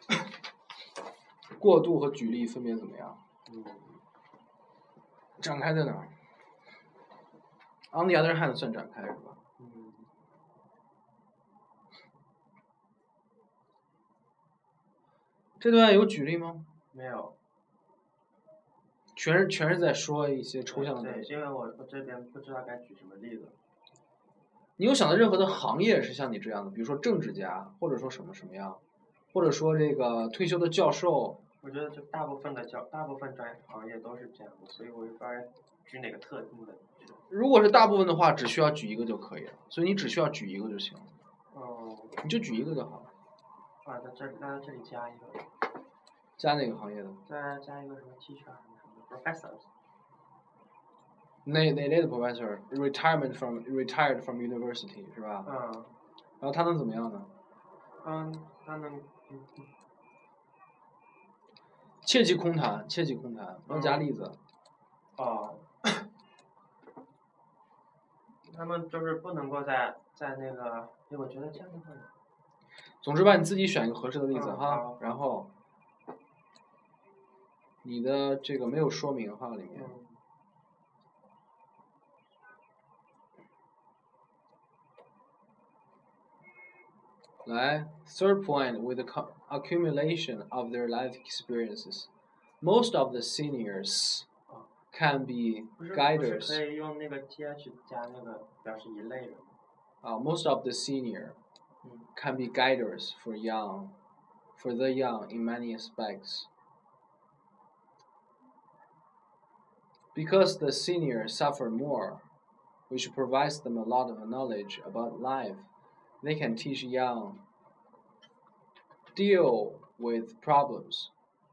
[SPEAKER 1] 过渡和举例分别怎么样？
[SPEAKER 3] 嗯。
[SPEAKER 1] 展开在哪儿 ？On the other hand 算展开是吧？
[SPEAKER 3] 嗯。
[SPEAKER 1] 这段有举例吗？
[SPEAKER 3] 没有。
[SPEAKER 1] 全是全是在说一些抽象的东
[SPEAKER 3] 对，
[SPEAKER 1] 西。
[SPEAKER 3] 因为我我这边不知道该举什么例子。
[SPEAKER 1] 你有想到任何的行业是像你这样的，比如说政治家，或者说什么什么样，或者说这个退休的教授？
[SPEAKER 3] 我觉得就大部分的教，大部分专业行业都是这样的，所以我就不知道举哪个特定的。
[SPEAKER 1] 如果是大部分的话，只需要举一个就可以了，所以你只需要举一个就行了。
[SPEAKER 3] 哦。
[SPEAKER 1] 你就举一个就好了。
[SPEAKER 3] 啊，在这那在这里加一个。
[SPEAKER 1] 加哪个行业的？
[SPEAKER 3] 再加一个什么 teacher 什么什么 professors。
[SPEAKER 1] 哪哪类的 professor retirement from retired from university 是吧？
[SPEAKER 3] 嗯。
[SPEAKER 1] 然后他能怎么样呢？
[SPEAKER 3] 嗯，他能。嗯。
[SPEAKER 1] 切忌空谈，切忌空谈，要加例子。
[SPEAKER 3] 哦。他们就是不能够在在那个，哎，我觉得这样的话。
[SPEAKER 1] 总之吧，你自己选一个合适的例子、
[SPEAKER 3] 嗯、
[SPEAKER 1] 哈，然后你的这个没有说明哈里面。
[SPEAKER 3] 嗯。
[SPEAKER 1] 来 ，third point with the accumulation of their life experiences, most of the seniors can be guiders.
[SPEAKER 3] 不是可以用那个 th 加那个表示一类人吗？
[SPEAKER 1] 啊、uh, ，most of the senior can be guiders for young, for the young in many aspects. Because the seniors suffer more, which provides them a lot of knowledge about life. They can teach young deal with problems.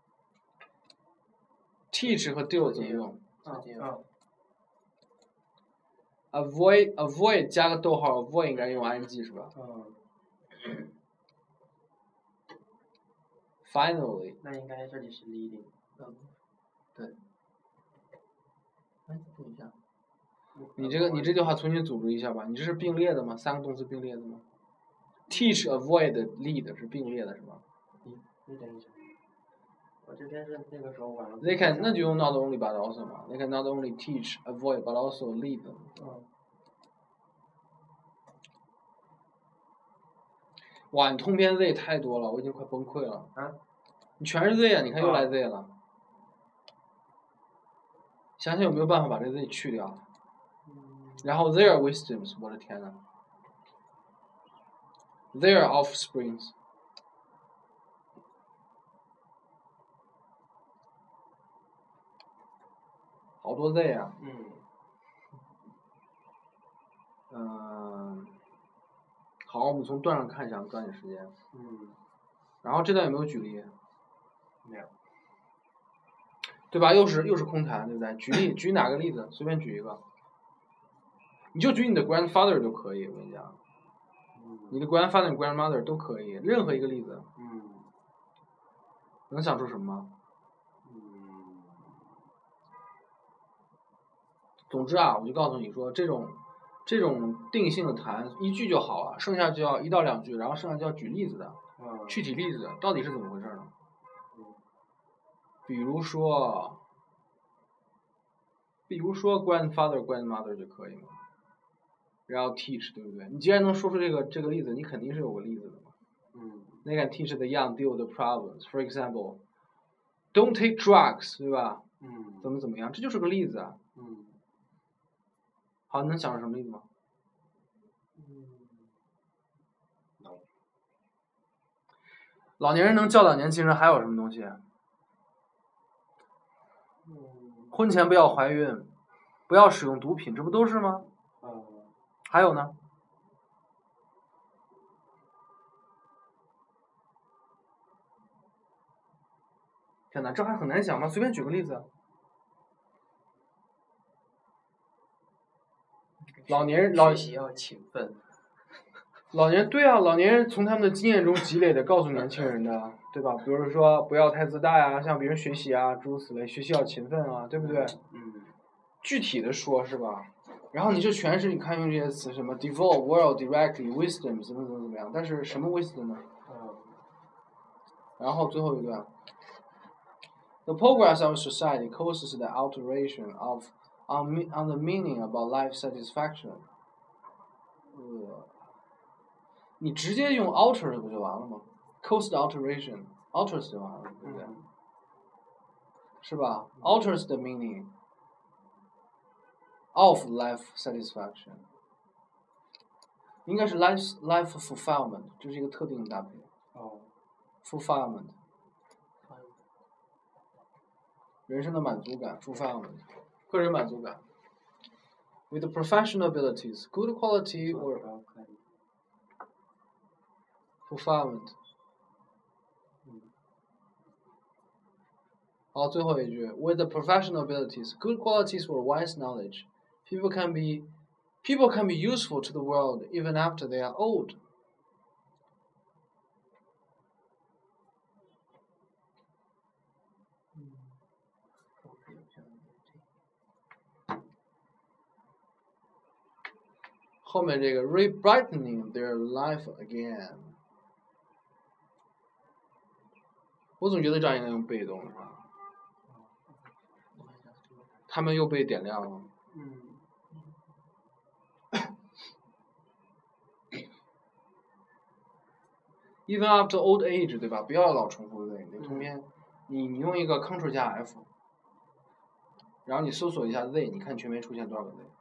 [SPEAKER 1] Teach 和 deal 怎么用？
[SPEAKER 3] 嗯嗯。
[SPEAKER 1] avoid avoid 加个逗号 ，avoid 应该用 ing 是吧？
[SPEAKER 3] 嗯。
[SPEAKER 1] Finally，
[SPEAKER 3] 那应该这里是 leading。
[SPEAKER 1] 嗯，对。哎，等一下，你这个你这句话重新组织一下吧。你这是并列的吗？三个动词并列的吗 ？Teach, avoid, lead 是并列的是吧？
[SPEAKER 3] 嗯，你等一下。我这边是那个时候晚了。
[SPEAKER 1] They can 那就用 not only but also 嘛。They can not only teach, avoid, but also lead.
[SPEAKER 3] 嗯。
[SPEAKER 1] 哇，你通篇 Z 太多了，我已经快崩溃了。
[SPEAKER 3] 啊？
[SPEAKER 1] 你全是 Z 啊！你看又来 Z 了。啊、想想有没有办法把这 Z 去掉？
[SPEAKER 3] 嗯、
[SPEAKER 1] 然后 their wisdoms， 我的天呐 their offsprings。好多 Z 啊。
[SPEAKER 3] 嗯。
[SPEAKER 1] 嗯。好，我们从段上看一下，抓紧时间。
[SPEAKER 3] 嗯。
[SPEAKER 1] 然后这段有没有举例？
[SPEAKER 3] 没有。
[SPEAKER 1] 对吧？又是又是空谈，对不对？举例，举哪个例子？随便举一个。你就举你的 grandfather 就可以，我跟你讲。
[SPEAKER 3] 嗯。
[SPEAKER 1] 你的 grandfather、grandmother 都可以，任何一个例子。
[SPEAKER 3] 嗯。
[SPEAKER 1] 能想出什么吗？
[SPEAKER 3] 嗯。
[SPEAKER 1] 总之啊，我就告诉你说，这种这种定性的谈一句就好了，剩下就要一到两句，然后剩下就要举例子的，
[SPEAKER 3] 嗯、
[SPEAKER 1] 具体例子到底是怎么回事呢？
[SPEAKER 3] 嗯、
[SPEAKER 1] 比如说，比如说 grandfather grandmother 就可以吗？ 然后 teach 对不对？你既然能说出这个这个例子，你肯定是有个例子的嘛。
[SPEAKER 3] 嗯。
[SPEAKER 1] They can teach the young deal with the problems. For example, don't take drugs， 对吧？
[SPEAKER 3] 嗯。
[SPEAKER 1] 怎么怎么样，这就是个例子啊。
[SPEAKER 3] 嗯。
[SPEAKER 1] 好，你能想出什么例子吗？
[SPEAKER 3] 嗯。
[SPEAKER 1] 老年人能教导年轻人还有什么东西？
[SPEAKER 3] 嗯。
[SPEAKER 1] 婚前不要怀孕，不要使用毒品，这不都是吗？
[SPEAKER 3] 嗯。
[SPEAKER 1] 还有呢？天哪，这还很难想吗？随便举个例子。老年人老
[SPEAKER 2] 学习要勤奋。
[SPEAKER 1] 老年对啊，老年人从他们的经验中积累的，告诉年轻人的，对吧？比如说不要太自大呀，向别人学习啊，诸如此类，学习要勤奋啊，对不对？
[SPEAKER 3] 嗯。
[SPEAKER 1] 具体的说，是吧？然后你这全是你看用这些词，什么 devote, world, directly, wisdom， 怎么怎么怎么样？但是什么 wisdom 呢？
[SPEAKER 3] 嗯。
[SPEAKER 1] 然后最后一段 ，The progress of society causes the alteration of on on the meaning about life satisfaction。呃，你直接用 alter 不就完了吗 ？Cause the alteration, alters 就完了，对不对？
[SPEAKER 3] 嗯、
[SPEAKER 1] 是吧 ？Alters the meaning of life satisfaction。应该是 life life fulfillment， 这是一个特定的搭配。
[SPEAKER 3] 哦。
[SPEAKER 1] fulfillment。人生的满足感 fulfillment， 个人满足感。With professional abilities, good quality or fulfillment。好，最后一句 ，With the professional abilities, good qualities or wise knowledge, people can be people can be useful to the world even after they are old。后面这个 re-brightening their life again， 我总觉得这样应该用被动的话，他们又被点亮了。
[SPEAKER 3] 嗯。
[SPEAKER 1] Even after old age， 对吧？不要老重复对，你通篇，你你用一个 Ctrl 加 F， 然后你搜索一下 they， 你看全篇出现多少个 they。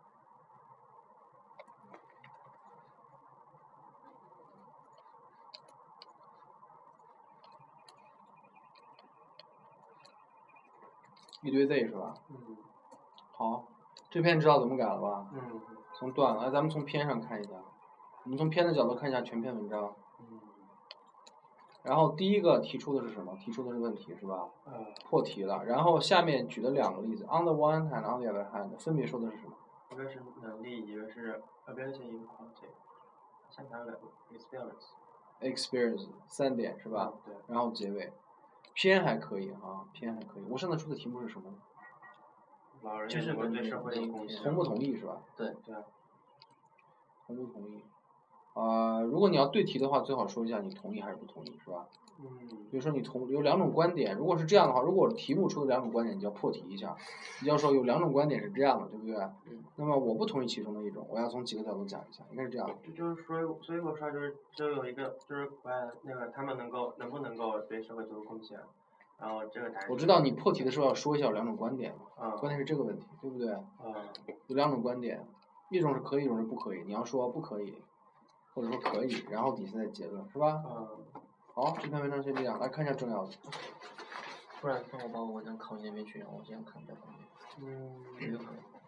[SPEAKER 1] 一堆 they 是吧？
[SPEAKER 3] 嗯。
[SPEAKER 1] 好，这篇知道怎么改了吧？
[SPEAKER 3] 嗯。
[SPEAKER 1] 从段，来咱们从篇上看一下，我们从篇的角度看一下全篇文章。
[SPEAKER 3] 嗯。
[SPEAKER 1] 然后第一个提出的是什么？提出的是问题是吧？
[SPEAKER 3] 嗯。
[SPEAKER 1] 破题了。然后下面举了两个例子 ，on the one hand, on the other hand， 分别说的是什么？
[SPEAKER 3] 一个是能力，一个是 ability in quality。先谈两个 experience。experience
[SPEAKER 1] 三点是吧？
[SPEAKER 3] 对。
[SPEAKER 1] 然后结尾，篇还可以啊，篇还可以。我上次出的题目是什么？
[SPEAKER 3] 老人就是对社会有贡献。
[SPEAKER 1] 同不同意是吧？
[SPEAKER 2] 对
[SPEAKER 3] 对。
[SPEAKER 1] 同不同意？呃，如果你要对题的话，最好说一下你同意还是不同意，是吧？
[SPEAKER 3] 嗯。
[SPEAKER 1] 比如说你同有两种观点，如果是这样的话，如果题目出的两种观点，你就要破题一下，你就要说有两种观点是这样的，对不对？
[SPEAKER 2] 嗯。
[SPEAKER 1] 那么我不同意其中的一种，我要从几个角度讲一下，应该是这样。
[SPEAKER 3] 就就是说，所以我说就是就有一个就是呃那个他们能够能不能够对社会做出贡献，然后这个答案。
[SPEAKER 1] 我知道你破题的时候要说一下有两种观点嘛，
[SPEAKER 3] 嗯。
[SPEAKER 1] 关键是这个问题，对不对？
[SPEAKER 3] 嗯。
[SPEAKER 1] 有两种观点，一种是可以，一种是不可以，你要说不可以。或者说可以，然后底下再结论，是吧？
[SPEAKER 3] 嗯。
[SPEAKER 1] 好，这篇文章先这样，来看一下重要的。
[SPEAKER 2] 不然，那我把我文章拷你那边去，然后我这样看这方面。
[SPEAKER 3] 嗯。
[SPEAKER 2] 没有可能。